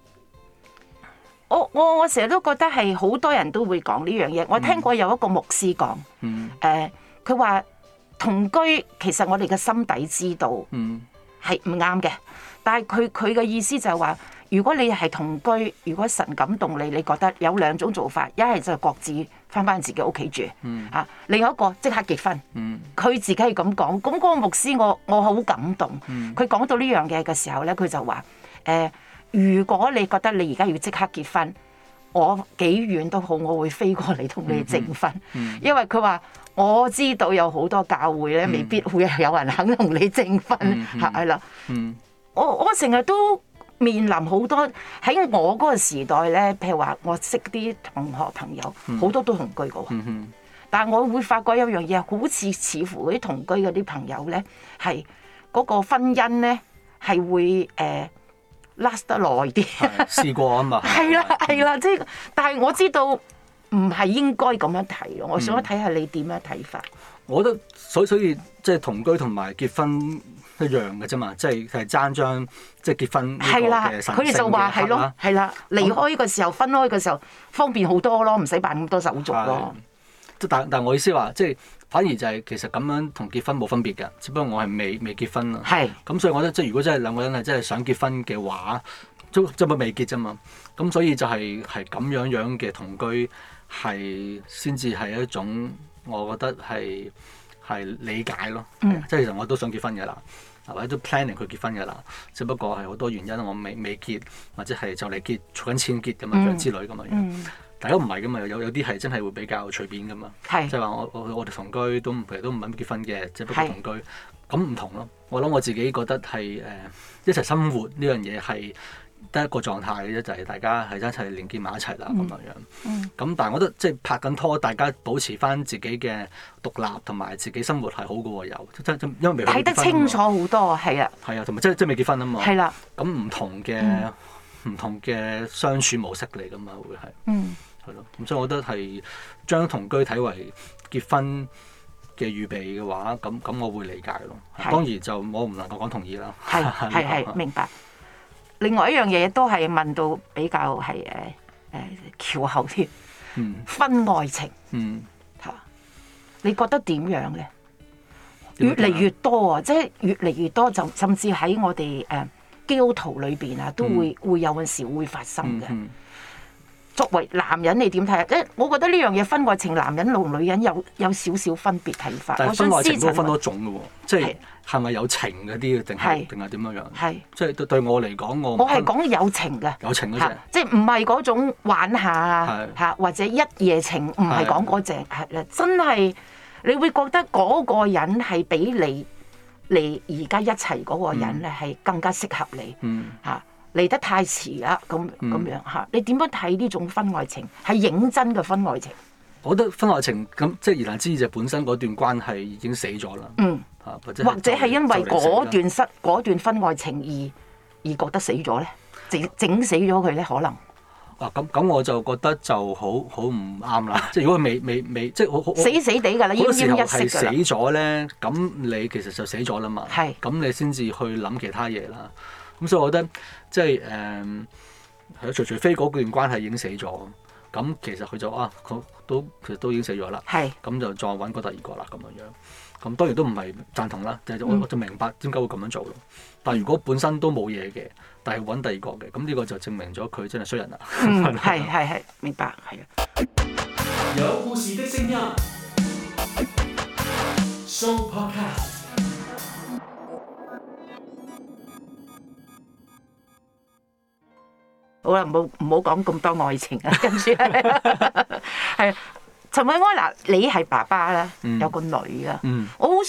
我我我成日都覺得係好多人都會講呢樣嘢。我聽過有一個牧師講， 嗯， 誒佢話同居其實我哋嘅心底知道，嗯，係唔啱嘅。但係佢佢嘅意思就係話，如果你係同居，如果神感動你，你覺得有兩種做法，一係就各自翻返自己屋企住，嗯、啊，另外一個即刻結婚。佢、嗯、自己係咁講，咁嗰個牧師我我好感動。佢講、嗯、到呢樣嘢嘅時候咧，佢就話：誒、呃，如果你覺得你而家要即刻結婚，我幾遠都好，我會飛過嚟同你證婚，嗯嗯、因為佢話我知道有好多教會咧，未必會有人肯同你證婚，係啦。我我成日都面臨好多喺我嗰個時代咧，譬如話我識啲同學朋友，好、嗯、多都同居嘅喎。嗯嗯、但係我會發覺有樣嘢，好似似乎嗰啲同居嗰啲朋友咧，係嗰個婚姻咧係會誒、呃、last 得耐啲。 試過啊嘛。係啦係啦，即係，但係我知道唔係應該咁樣睇咯。我想睇下你點樣睇法。 我覺得所以所以即係同居同埋結婚一樣嘅啫嘛，即係係爭張即係結婚呢個嘅神聖嘅佢哋就話係咯，係啦，離開嘅時候、分開嘅時候方便好多咯，唔使辦咁多手續咯。 但但我意思話，即係反而就係其實咁樣同結婚冇分別嘅，只不過我係未未結婚啊。係咁是，所以我覺得即係如果真係兩個人係真係想結婚嘅話，都即係未結啫嘛。咁所以就係係咁樣樣嘅同居係先至係一種，我覺得係。係理解咯，嗯、即係其實我都想結婚嘅啦，或者都 planning 佢結婚嘅啦，只不過係好多原因我未未結，或者係就嚟結，儲緊錢結咁樣樣之類咁樣樣。嗯、大家唔係噶嘛，有有啲係真係會比較隨便噶嘛，即係話我我我哋同居都其實都唔諗結婚嘅，只不過同居咁唔是同咯。我諗我自己覺得係誒、呃、一齊生活呢樣嘢係得一個狀態嘅啫，就係、是、大家係一齊連結埋一齊啦咁樣樣。咁、嗯嗯、但係我覺得即係拍緊拖，大家保持翻自己嘅獨立同埋自己生活係好嘅喎，有即係因為未睇得清楚好多，係啊。 係啊，同埋即係即係未結婚啊嘛。係啦。咁唔同嘅唔、嗯、同嘅相處模式嚟㗎嘛，會係。嗯。係咯，咁所以我覺得係將同居睇為結婚嘅預備嘅話，咁咁我會理解咯。是當然就我唔能夠講同意啦。係係係，明白。另外一樣嘢都係問到比較係誒誒翹口啲，嗯、婚外情，嚇、嗯、你覺得點樣咧？越嚟越多啊，即係越嚟越多，就甚至喺我哋誒基督徒裏邊啊，都會、嗯、會有陣時會發生嘅。嗯嗯、作為男人你點睇啊？即係我覺得呢樣嘢婚外情，男人同女人有有少少分別睇法。但係婚外情都分多種嘅喎，即係係咪有情嗰啲定係定係點樣樣？係即係對對我嚟講，我我係講有情嘅，有情嗰隻，即係唔係嗰種玩下啊嚇，或者一夜情，唔係講嗰隻係啦，真係你會覺得嗰個人係比你你而家一齊嗰個人咧係更加適合你嚇。嚟得太遲啦，咁咁樣嚇，你點樣睇呢種婚外情？係認真嘅婚外情。我覺得婚外情咁，即係言下之意就本身嗰段關係已經死咗啦。嗯，嚇或者或者係因為嗰段失嗰段婚外情而而覺得死咗咧，整整死咗佢咧，可能。啊，咁咁我就覺得就好好唔啱啦。即係如果佢未未未，即係好好死死地㗎啦，奄奄一息㗎啦。嗰時候係死咗咧，咁你其實就死咗啦嘛。係是。咁你先至去諗其他嘢啦。咁所以我覺得即係誒係除除非嗰段關係已經死咗，咁其實佢就啊，佢都其實都已經死咗啦。係咁是就再揾個第二個啦，咁樣樣。咁當然都唔係贊同啦，就係、我我就明白點解會咁樣做咯。但係如果本身都冇嘢嘅，但係揾第二個嘅，咁呢個就證明咗佢真係衰人啦。嗯，係係係，明白係啊。有故事的聲音 ，Show Podcast。好啦，唔好唔好講咁多愛情啊，跟住係陳偉安嗱，你係爸爸啦，有個女啊，嗯、我好想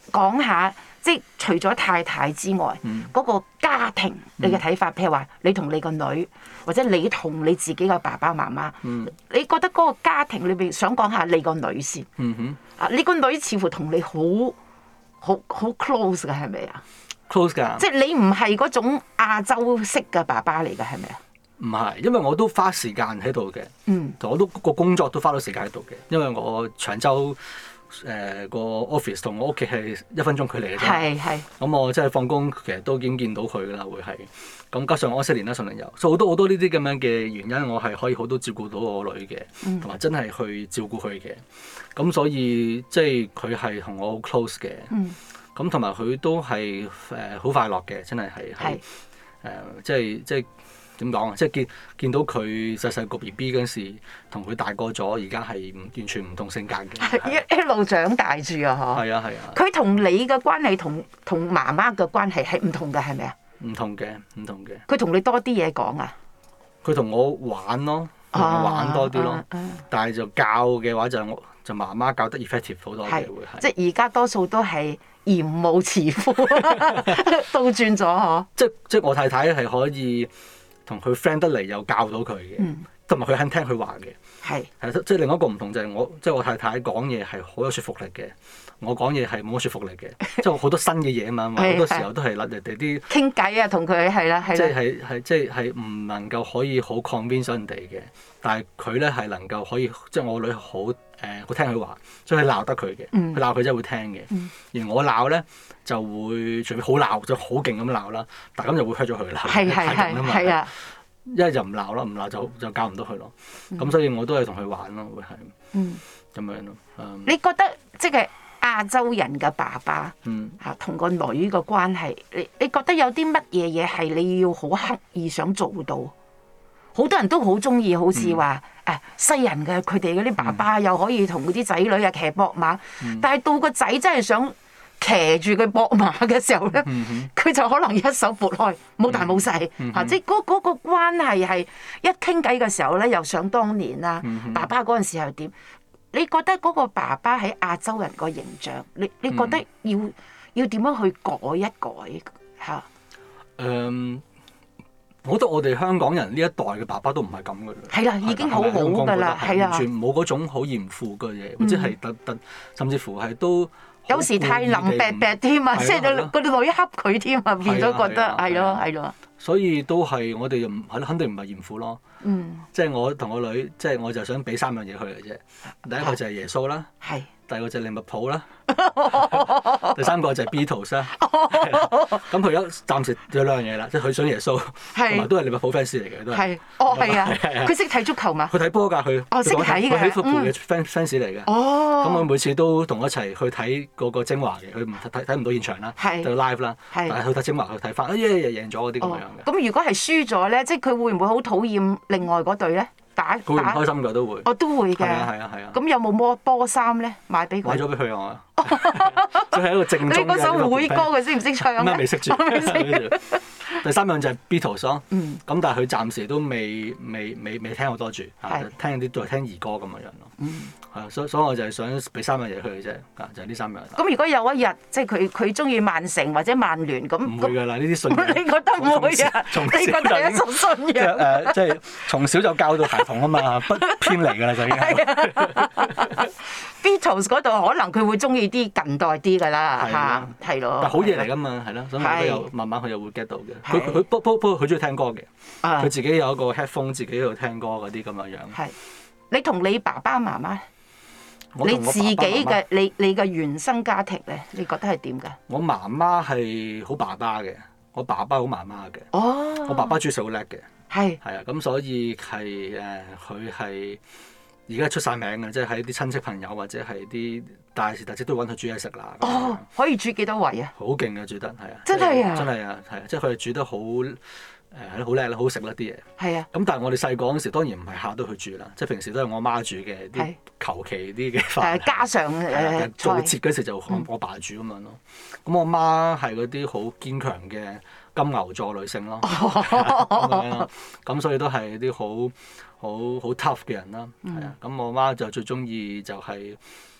講下，即係除咗太太之外，嗰、 嗯、 個家庭你嘅睇法，譬如話你同你個女，或者你同你自己嘅爸爸媽媽， 嗯、 你覺得嗰個家庭裏邊想講下你個女先。 嗯哼， 啊，你個女似乎同你好好好 close 嘅係咪啊 ？close 㗎， 即係你唔係嗰種亞洲式嘅爸爸嚟㗎係咪啊？ 唔係，因為我都花時間喺度嘅， 嗯， 我都個工作都花咗時間喺度嘅，因為我長洲誒個 office 同我屋企係一分鐘距離嘅啫， 係係。 咁我即係放工其實都已經見到佢㗎啦，會係咁加上我四年啦，順利有，所以好多好多呢啲咁樣嘅原因，我係可以好多照顧到我女嘅，同埋、嗯、真係去照顧佢嘅，咁所以即係佢係同我好 close 嘅，咁同埋佢都係誒好快樂嘅，真係係係誒即係即係。點講啊？即係見見到佢細細個 B B 嗰陣時，同佢大個咗，而家係完全唔同性格嘅。 一一路長大住啊！嗬。係啊係啊。 佢同你嘅關係同同媽媽嘅關係係唔同嘅，係咪啊？ 唔同嘅，唔同嘅。 佢同你多啲嘢講啊？ 佢同我玩咯，同我玩多啲咯。啊啊啊、但係就教嘅話就我就媽媽教得 effective 好多嘅會係。即係而家多數都係嚴母慈父，倒轉咗嗬。 即即我太太係可以。同佢 friend 得嚟又教到佢嘅，同埋佢肯聽佢話嘅，係係即係另一個唔同就係我即係我太太講嘢係好有說服力嘅，我講嘢係冇乜說服力嘅，即係好多新嘅嘢啊嘛，好多時候都係甩人哋啲傾偈啊，同佢係啦係啦， 即係係係即係係唔能夠可以好 convince 人哋嘅，但係佢咧係能夠可以即係我女好誒好聽佢話，所以佢鬧得佢嘅，佢鬧佢真係會聽嘅，嗯、而我鬧咧就會除非好鬧就好勁咁鬧啦，但係咁就會 hurt 咗佢啦， 係係係係啊。 一係就唔鬧咯，唔鬧就就教唔到佢咯。咁、嗯、所以我都係同佢玩咯，會係咁樣咯。嗯、 你覺得即係亞洲人嘅爸爸嚇同、嗯、個女嘅關係，你你覺得有啲乜嘢嘢係你要好刻意想做到？好多人都好中意，好似話誒西人嘅佢哋嗰啲爸爸又可以同嗰啲仔女啊騎膊馬，嗯、但係到個仔真係想騎住佢膊馬嘅時候咧，佢、嗯、哼就可能一手撥開，冇大冇細嚇，即係嗰嗰個關係係一傾偈嘅時候咧，又想當年啦，嗯、哼爸爸嗰陣時係點？你覺得嗰個爸爸喺亞洲人個形象，你你覺得要、嗯、要點樣去改一改嚇？誒、 嗯，我覺得我哋香港人呢一代嘅爸爸都唔係咁嘅啦， 係啦，已經好好㗎啦，係啊， 完全冇嗰種好嚴父嘅嘢，或者係特特，甚至乎係都。 有時太腍啤啤添啊，即係個個女恰佢添啊，變咗覺得係咯係咯。 所以都係我哋又唔係肯定唔係嚴父咯。 嗯， 即係我同我女，即係我就想俾三樣嘢佢嘅啫。第一個就係耶穌啦，係。第二個就係利物浦啦，第三個就係 Beatles 啦。咁佢而家暫時有兩樣嘢啦，即係佢想耶穌，同埋都係利物浦 fans 嚟嘅都係。係，哦係啊，佢識睇足球嘛？佢睇波㗎佢。哦，識睇㗎。佢係利物浦嘅 fans fans 嚟嘅。哦。咁我每次都同我一齊去睇嗰個精華嘅，佢唔睇睇唔到現場啦，就 live 啦。係。但係去睇精華去睇翻，哎呀贏咗嗰啲咁樣嘅。咁如果係輸咗咧，即係佢會唔會好討厭另外嗰隊咧？打佢會唔開心㗎都會， 我都會嘅。 係啊係啊係啊。咁有冇摸波衫咧？買俾佢。 買咗俾佢啊！佢係一個正宗嘅。 你嗰首會歌佢識唔識唱咧？ 未識住。第三樣就係 Beatles 咯。嗯。咁但係佢暫時都未未未未聽好多住，聽啲都係聽兒歌咁嘅樣咯。嗯。係啊，所所以我就係想俾三樣嘢佢嘅啫，啊就係呢三樣。 咁如果有一日即係佢佢中意曼城或者曼聯咁， 唔會㗎啦，呢啲信仰。 你覺得唔會啊？你覺得係一種信仰？ 誒，即係從小就教到孩童啊嘛，不偏離㗎啦就已經。 Beatles 嗰度可能佢會中意啲近代啲㗎啦嚇，係咯。 但好嘢嚟㗎嘛，係咯，所以佢又慢慢佢又會 get 到嘅。佢佢不不不過佢中意聽歌嘅，佢自己有一個 headphone 自己喺度聽歌嗰啲咁嘅樣。係，你同你爸爸媽媽，你自己嘅你你嘅原生家庭咧，你覺得係點㗎？我媽媽係好爸爸嘅，我爸爸好媽媽嘅。哦。我爸爸煮食好叻嘅。係。係啊，咁所以係誒，佢係。而家出晒名嘅，即係喺啲親戚朋友或者係啲大時大節都揾佢煮嘢食啦。哦，可以煮幾多位啊？好勁嘅煮得，係啊！真係啊！真係啊，係啊！即係佢哋煮得好誒，係咯，好叻啦，好食啦啲嘢。係啊。咁但係我哋細個嗰陣時，當然唔係下都去煮啦，即係平時都係我媽煮嘅啲求其啲嘅飯。誒，家常誒做節嗰時就我爸煮咁樣咯。咁我媽係嗰啲好堅強嘅金牛座女性咯。咁咁所以都係啲好好好 tough 嘅人啦，係啊，咁我媽就最中意就係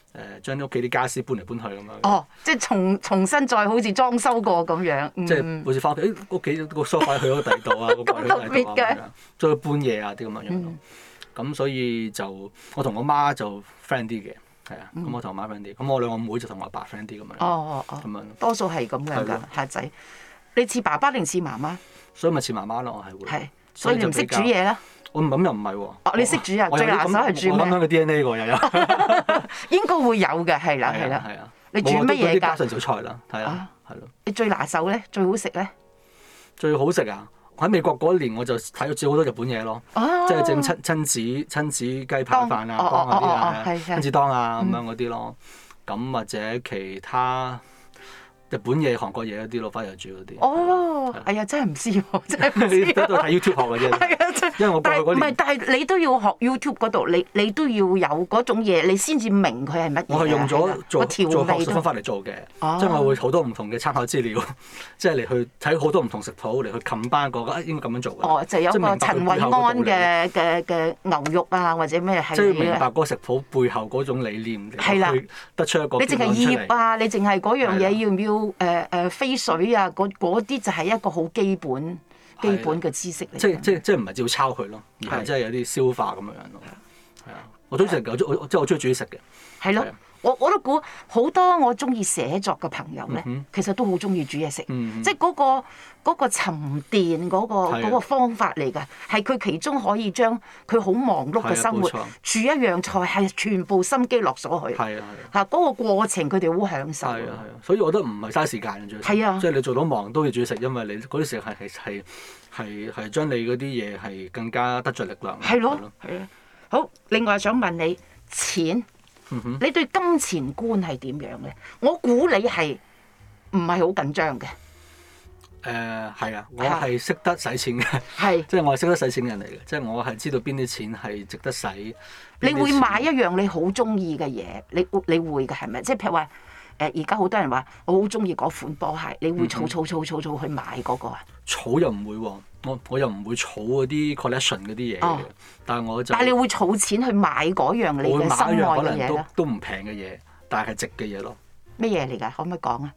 誒將屋企啲家私搬嚟搬去咁樣。 哦，即係重重新再好似裝修過咁樣。嗯、 即係好似翻屋企，誒屋企個梳化去咗第二度啊，嗰個去咗第二度啊咁樣，再搬嘢啊啲咁樣樣咯。咁、嗯、所以就我同我媽就 friend 啲嘅，係啊。咁、嗯、我同我媽 friend 啲，咁我兩個妹就同我阿爸 friend 啲咁樣。哦哦哦。咁樣多數係咁樣㗎，客仔。你似爸爸定似媽媽？ 所以咪似媽媽咯，我係會。係。 所以你唔識煮嘢啦？ 我唔咁又唔係喎。 哦，你識煮啊？最拿手係煮咩？ 我咁樣嘅 D N A 喎又有。 應該會有嘅，係啦，係啦。係啊。你煮乜嘢㗎？ 家常小菜啦，係啊，係咯。 你最拿手咧，最好食咧？ 最好食啊！喺美國嗰年我就睇咗煮好多日本嘢咯，即係整親親子親子雞排飯啊、當嗰啲啊、親子當啊咁樣嗰啲咯。咁或者其他日本嘢、韓國嘢嗰啲咯，翻嚟煮嗰啲。 哦，係啊，真係唔知喎，真係唔知。 都都睇 YouTube 學嘅啫。係啊，真係。因為我過去嗰年。唔係， 但係你都要學 YouTube 嗰度，你你都要有嗰種嘢，你先至明佢係乜嘢。 我係用咗做做學術方法嚟做嘅，即係我會好多唔同嘅參考資料，即係嚟去睇好多唔同食譜嚟去冚翻個啊應該咁樣做嘅。 哦，就有個陳慧安嘅嘅嘅牛肉啊，或者咩係。 即係明白嗰個食譜背後嗰種理念， 係啦， 得出一個。 你淨係醃啊，你淨係嗰樣嘢要唔要誒誒飛水啊？嗰嗰啲就係一個好基本。基本嘅知識嚟， 即係即係即係唔係照抄佢咯，而係即係有啲消化咁樣樣咯。係啊，我中意食嘅，我我即係我中意煮嘢食嘅。係咯，我我都估好多我中意寫作嘅朋友咧，其實都好中意煮嘢食。即係嗰個嗰個沉澱嗰個嗰個方法嚟㗎，係佢其中可以將佢好忙碌嘅生活煮一樣菜係全部心機落咗去。係啊係啊，嗰個過程佢哋好享受。係啊係啊，所以我覺得唔係嘥時間嘅最。係啊，即係你做到忙都要煮嘢食，因為你嗰啲時間係係係係將你嗰啲嘢係更加得著力量。係咯係啊。好，另外想問你錢。你對金錢觀係點樣咧？我估你係唔係好緊張嘅？誒係啊，我係識得使錢嘅，係即係我係識得使錢嘅人嚟嘅，即係我係知道邊啲錢係值得使。你會買一樣你好中意嘅嘢，你你會嘅係咪？即係譬如話誒，而家好多人話我好中意嗰款波鞋，你會儲儲儲儲儲去買嗰個啊？儲又唔會喎。我我又唔會儲嗰啲 collection 嗰啲嘢嘅，但係我就但係你會儲錢去買嗰樣你嘅心愛嘅嘢咧？可能都都唔平嘅嘢，但係係值嘅嘢咯。咩嘢嚟㗎？可唔可以講啊？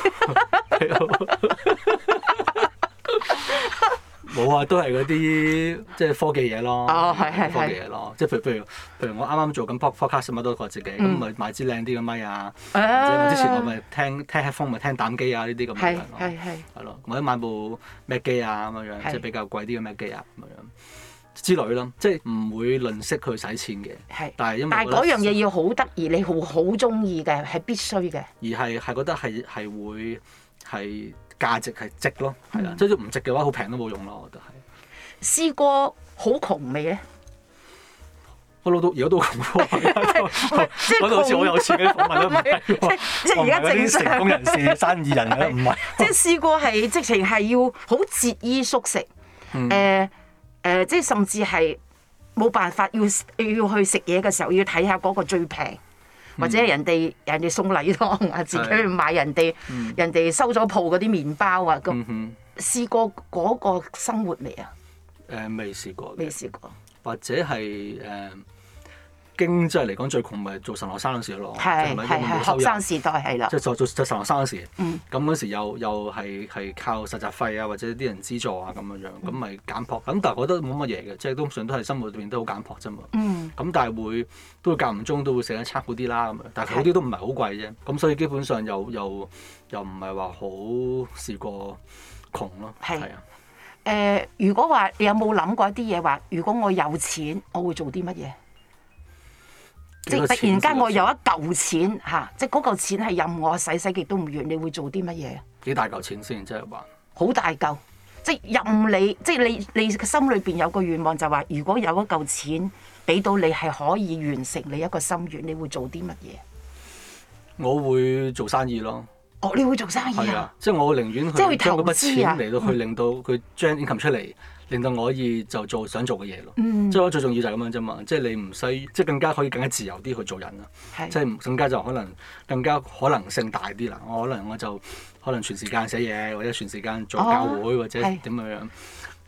冇啊，都係嗰啲即係科技嘢咯。哦，係係係科技嘢咯，即係譬如譬如譬如我啱啱做緊 podcast 乜都我自己，咁咪買支靚啲嘅咪啊，或者之前我咪聽聽 headphone 咪聽膽機啊呢啲咁樣咯。係係係。係咯，或者買部 Mac 機啊咁樣，即係比較貴啲嘅 Mac 機啊咁樣之類咯，即係唔會吝嗇去使錢嘅。係。但係因為但係嗰樣嘢要好得意，你好好中意嘅係必須嘅。而係係覺得係係會係。價值係值咯，係啦，即係唔值嘅話，好平都冇用咯，我覺得係。試過好窮未咧？我老到而家都窮喎，講到好似好有錢嘅訪問都唔係，即係而家正常成功人士、生意人嘅唔係。即係試過係直情係要好節衣縮食，誒誒、嗯呃呃，即係甚至係冇辦法要要去食嘢嘅時候，要睇下嗰個最平。或者人哋人哋送禮湯啊，自己去買人哋、嗯、人哋收咗鋪嗰啲麵包啊，咁、嗯、哼試過嗰個生活未啊？誒、呃，未試過。未試過。或者係誒、呃、經濟嚟講最窮咪做神學生嗰時咯，係係係學生時代係啦。即係做做做神學生嗰時，咁嗰、嗯、時又又係係靠實習費啊，或者啲人資助啊咁樣樣，咁咪簡樸。咁但係我覺得冇乜嘢嘅，即係通常都係生活裏邊都好簡樸啫嘛。咁、嗯、但係會都會間唔中都會食一餐好啲啦咁樣，但係嗰啲都唔係好貴啫。咁所以基本上又又又唔係話好試過窮咯。係啊。誒、呃，如果話你有冇諗過一啲嘢話，如果我有錢，我會做啲乜嘢？即係突然間我有一嚿錢嚇，即係嗰嚿錢係任我使使極都唔完，你會做啲乜嘢？幾大嚿錢先？即係話好大嚿，即係任你，即係你你心裏邊有個願望就話，如果有一嚿錢俾到你，係可以完成你一個心願，你會做啲乜嘢？我會做生意咯。哦，你會做生意啊？係啊，即係我寧願去將嗰筆錢嚟到去令到佢將 income 出嚟，令到我可以就做想做嘅嘢咯。嗯、即係我最重要就係咁樣啫嘛。即係你唔使，即係更加可以更加自由啲去做人啦。是即係更加就可能更加可能性大啲啦。我可能我就可能全時間寫嘢，或者全時間做教會，哦、或者點樣樣。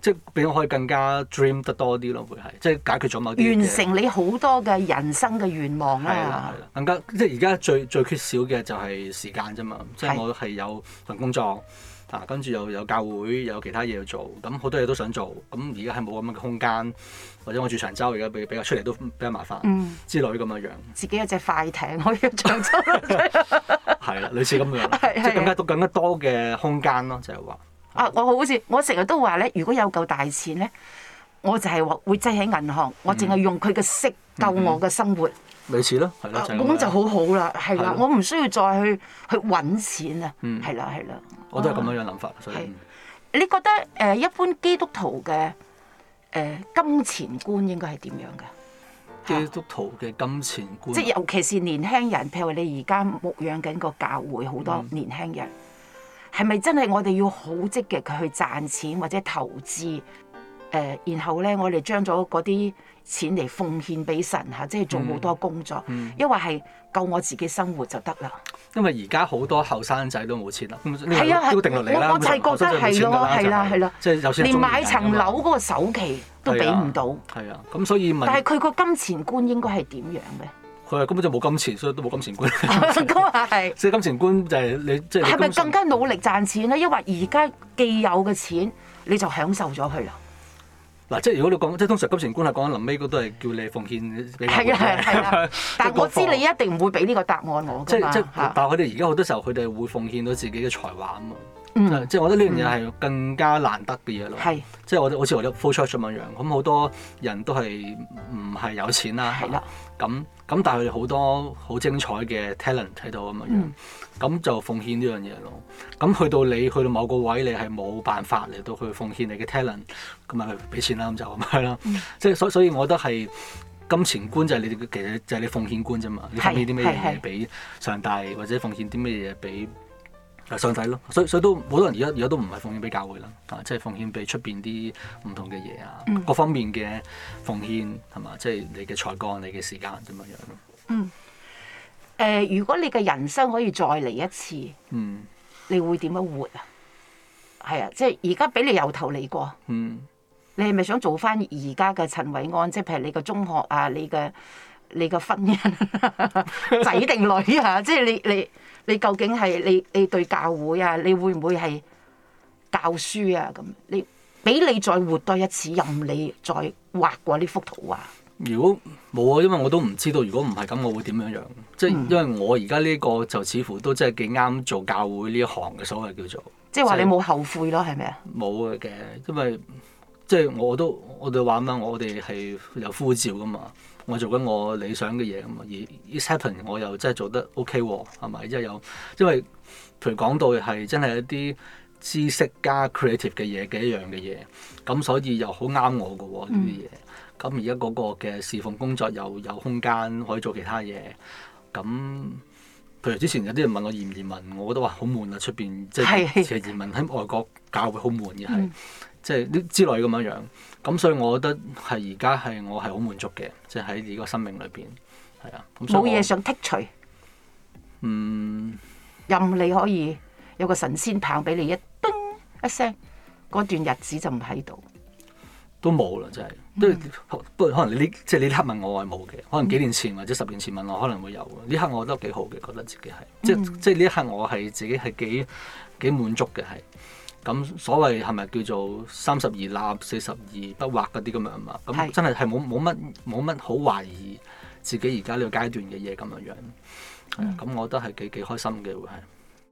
即係俾我可以更加 dream 得多啲咯，會係即係解決咗某啲嘢完成你好多嘅人生嘅願望係啦啦。 係啦，更加即係而家最最缺少嘅就係時間啫嘛。即係我係有份工作啊，跟住又有教會，有其他嘢要做，咁好多嘢都想做。咁而家係冇咁樣嘅空間，或者我住長洲，而家比比較出嚟都比較麻煩、 嗯、 之類咁嘅樣。 自己有隻快艇可以去長洲。 係啦，類似咁樣，即係更加多更加多嘅空間咯，就係話。 啊！我好似我成日都話咧，如果有夠大錢咧，我就係話會擠喺銀行，我淨係用佢嘅息夠我嘅生活。 類似咯，係咯，就係咁。 咁就好好啦，係啦，我唔需要再去去揾錢啊，係啦係啦。 我都係咁樣樣諗法，所以。 你覺得誒一般基督徒嘅誒金錢觀應該係點樣嘅？ 基督徒嘅金錢觀， 即係尤其是年輕人，譬如話你而家牧養緊個教會，好多年輕人。係咪真係我哋要好積極去賺錢或者投資？誒、呃，然後咧，我哋將咗嗰啲錢嚟奉獻俾神嚇，即係做好多工作，因為係夠我自己生活就得啦。 因為而家好多後生仔都冇錢啦， 係啊， 都定落嚟啦。 我我就係覺得係咯，係啦，係啦， 即係有錢連買層樓嗰個首期都俾唔到。 係啊，咁所以問， 但係佢個金錢觀應該係點樣嘅？ 佢係根本就冇金錢，所以都冇金錢觀。 咁啊係。 所以金錢觀就係你即係。係咪更加努力賺錢咧？因為而家既有嘅錢，你就享受咗佢啦。 嗱，即係如果你講，即係通常金錢觀係講緊臨尾嗰都係叫你奉獻俾。 係啊係啊，但係我知你一定唔會俾呢個答案我㗎嘛。 即係即係，但係佢哋而家好多時候，佢哋會奉獻到自己嘅才華啊嘛。 嗯、 即係我覺得呢樣嘢係更加難得嘅嘢咯。係、嗯，即係我好似我哋 flow church 咁樣樣，咁好多人都係唔係有錢啦。係啦。咁咁，但係佢哋好多好精彩嘅 talent 喺度咁樣樣，咁、嗯、就奉獻呢樣嘢咯。咁去到你去到某個位，你係冇辦法嚟到去奉獻你嘅 talent，咁咪去俾錢啦，咁就咁樣啦。嗯、即係所所以，我覺得係金錢觀就係你其實就係你奉獻觀啫嘛。你奉獻啲咩嘢俾上帝，或者奉獻啲咩嘢俾上帝咯，所以所以都好多人而家而家都唔係奉獻俾教會啦，啊，即係奉獻俾出邊啲唔同嘅嘢啊，嗯、各方面嘅奉獻係嘛，即係你嘅才幹、你嘅時間咁樣樣咯。嗯。誒、 呃，如果你嘅人生可以再嚟一次， 嗯， 你會點樣活啊？係啊，即係而家俾你由頭嚟過。嗯。你係咪想做翻而家嘅陳偉安？即係譬如你個中學啊，你嘅你嘅婚姻仔定女啊？即係你你。你你究竟係你你對教會啊？你會唔會係教書啊？咁你俾你再活多一次，任你再畫過呢幅圖畫。 如果冇啊，因為我都唔知道，如果唔係咁，我會點樣樣？即係因為我而家呢個就似乎都真係幾啱做教會呢一行嘅，所謂叫做。 即係話你冇後悔咯，係咪啊？ 冇嘅，因為即係我都我哋話乜，我哋係有呼召噶嘛。我做緊我理想嘅嘢咁啊，而 It's happen 我又真係做得 OK 喎，係咪？即係有，因為譬如講到係真係一啲知識加 creative 嘅嘢嘅一樣嘅嘢，咁所以又好啱我嘅喎呢啲嘢。咁而家嗰個嘅侍奉工作又有空間可以做其他嘢。咁譬如之前有啲人問我移唔移民，我覺得話好悶啊，出邊即係其實移民喺外國教會好悶嘅係。嗯即係啲之類咁樣樣，咁所以我覺得係而家係我係好滿足嘅，即係喺呢個生命裏邊，係啊。 冇嘢想剔除， 嗯， 任你可以有個神仙棒俾你一叮一聲，嗰段日子就唔喺度， 都冇啦，真係。都、嗯、不過可能你呢，即係你呢刻問我，我係冇嘅。可能幾年前或者十年前問我，可能會有。呢刻我覺得幾好嘅，覺得自己係，即係即係呢一刻我係自己係幾幾滿足嘅係。咁所謂係咪叫做三十而立四十而不惑嗰啲咁樣嘛？咁真係係冇冇乜冇乜好懷疑自己而家呢個階段嘅嘢咁樣樣。係啊，咁、嗯、我覺得係幾幾開心嘅會係。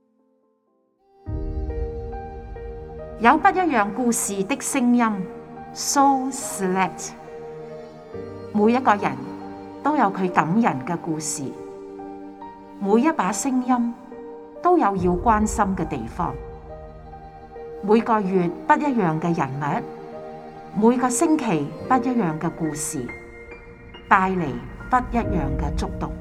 有不一樣故事的聲音 ，So select。每一個人都有佢感人嘅故事，每一把聲音都有要關心嘅地方。每個月不一樣嘅人物，每個星期不一樣嘅故事，帶嚟不一樣嘅觸動。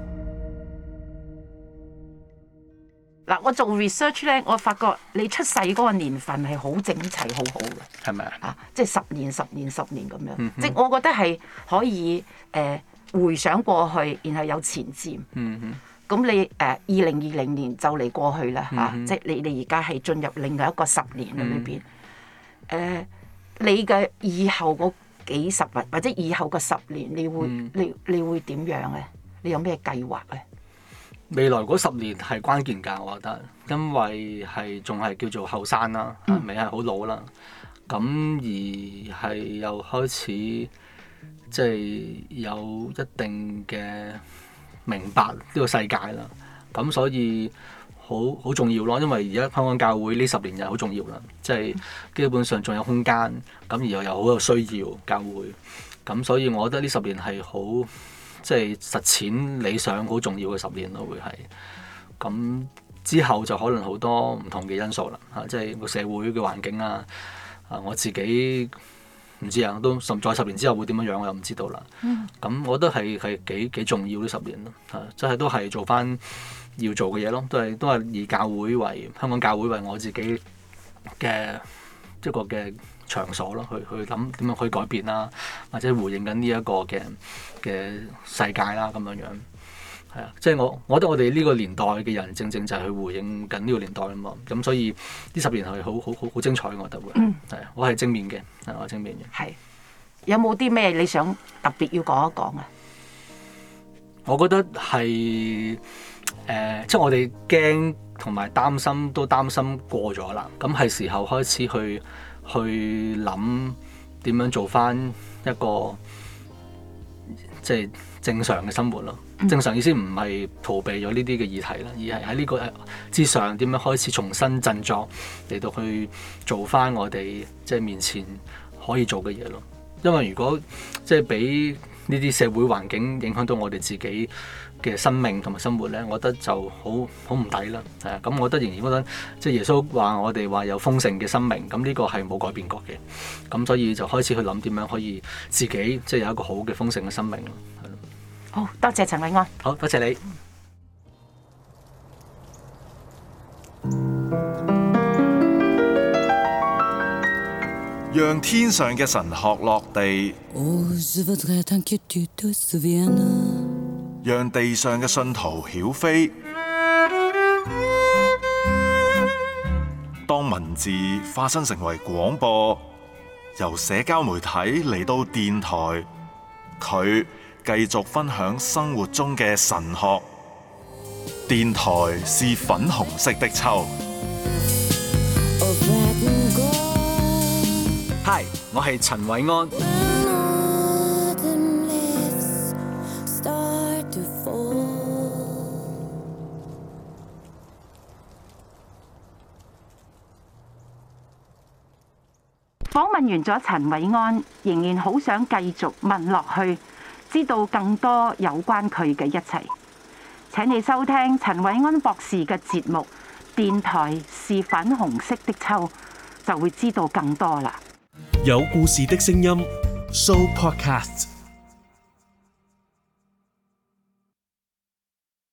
嗱，我做 research 咧，我發覺你出世嗰個年份係好整齊、好好嘅， 係咪啊？ 啊，即係十年、十年、十年咁樣， 嗯、哼即係我覺得係可以誒、呃、回想過去，然後有前瞻。 嗯哼咁你誒二零二零年就嚟過去啦嚇， 嗯、哼即係你你而家係進入另外一個十年裏邊。誒、 嗯呃， 你嘅以後嗰幾十或或者以後嘅十年，你會、嗯、你你會點樣咧？你有咩計劃咧？ 未來嗰十年係關鍵㗎，我覺得，因為係仲係叫做後生啦，未係好老啦。咁而係又開始即係有一定嘅明白呢個世界啦。咁所以好好重要咯，因為而家香港教會呢十年又好重要啦，即係基本上仲有空間，咁而又有好有需要教會。咁所以我覺得呢十年係好。即係實踐理想好重要嘅十年咯，會係咁之後就可能好多唔同嘅因素啦嚇，即係個社會嘅環境啊，啊我自己唔知啊，都十再十年之後會點樣樣我又唔知道啦。咁、嗯、我覺得係係幾幾重要呢十年咯嚇，即係都係做翻要做嘅嘢咯，都係都係以教會為香港教會為我自己嘅一個嘅場所咯，去去諗點樣去改變啦，或者回應緊呢一個嘅嘅世界啦，咁樣樣係啊，即係我我覺得我哋呢個年代嘅人正正就係去回應緊呢個年代啊嘛，咁所以呢十年係好好好好精彩，我覺得會係啊，我係正面嘅，係我係正面嘅。係有冇啲咩你想特別要講一講啊？ 我覺得係誒、呃，即係我哋驚同埋擔心都擔心過咗啦，咁係時候開始去。去諗點樣做翻一個即係正常嘅生活咯。正常意思唔係逃避咗呢啲嘅議題啦，而係喺呢個之上點樣開始重新振作嚟到去做翻我哋即係面前可以做嘅嘢咯。因為如果即係俾呢啲社會環境影響到我哋自己嘅生命同埋生活咧，我覺得就好好唔抵啦。係啊，咁我覺得仍然覺得即係耶穌話我哋話有豐盛嘅生命，咁呢個係冇改變過嘅。咁所以就開始去諗點樣可以自己即係有一個好嘅豐盛嘅生命咯。係咯。 好多謝陳韋安。 好多謝你。 讓天上嘅神學落地，讓地上嘅信徒曉飛。當文字化身成為廣播，由社交媒體嚟到電台，佢繼續分享生活中嘅神學。電台是粉紅色的秋。 Hi， 我係陳韋安。 訪問完咗陳韋安，仍然好想繼續問落去，知道更多有關佢嘅一切。請你收聽陳韋安博士嘅節目《電台是粉紅色的秋》，就會知道更多啦。 有故事的聲音 ，Show Podcast。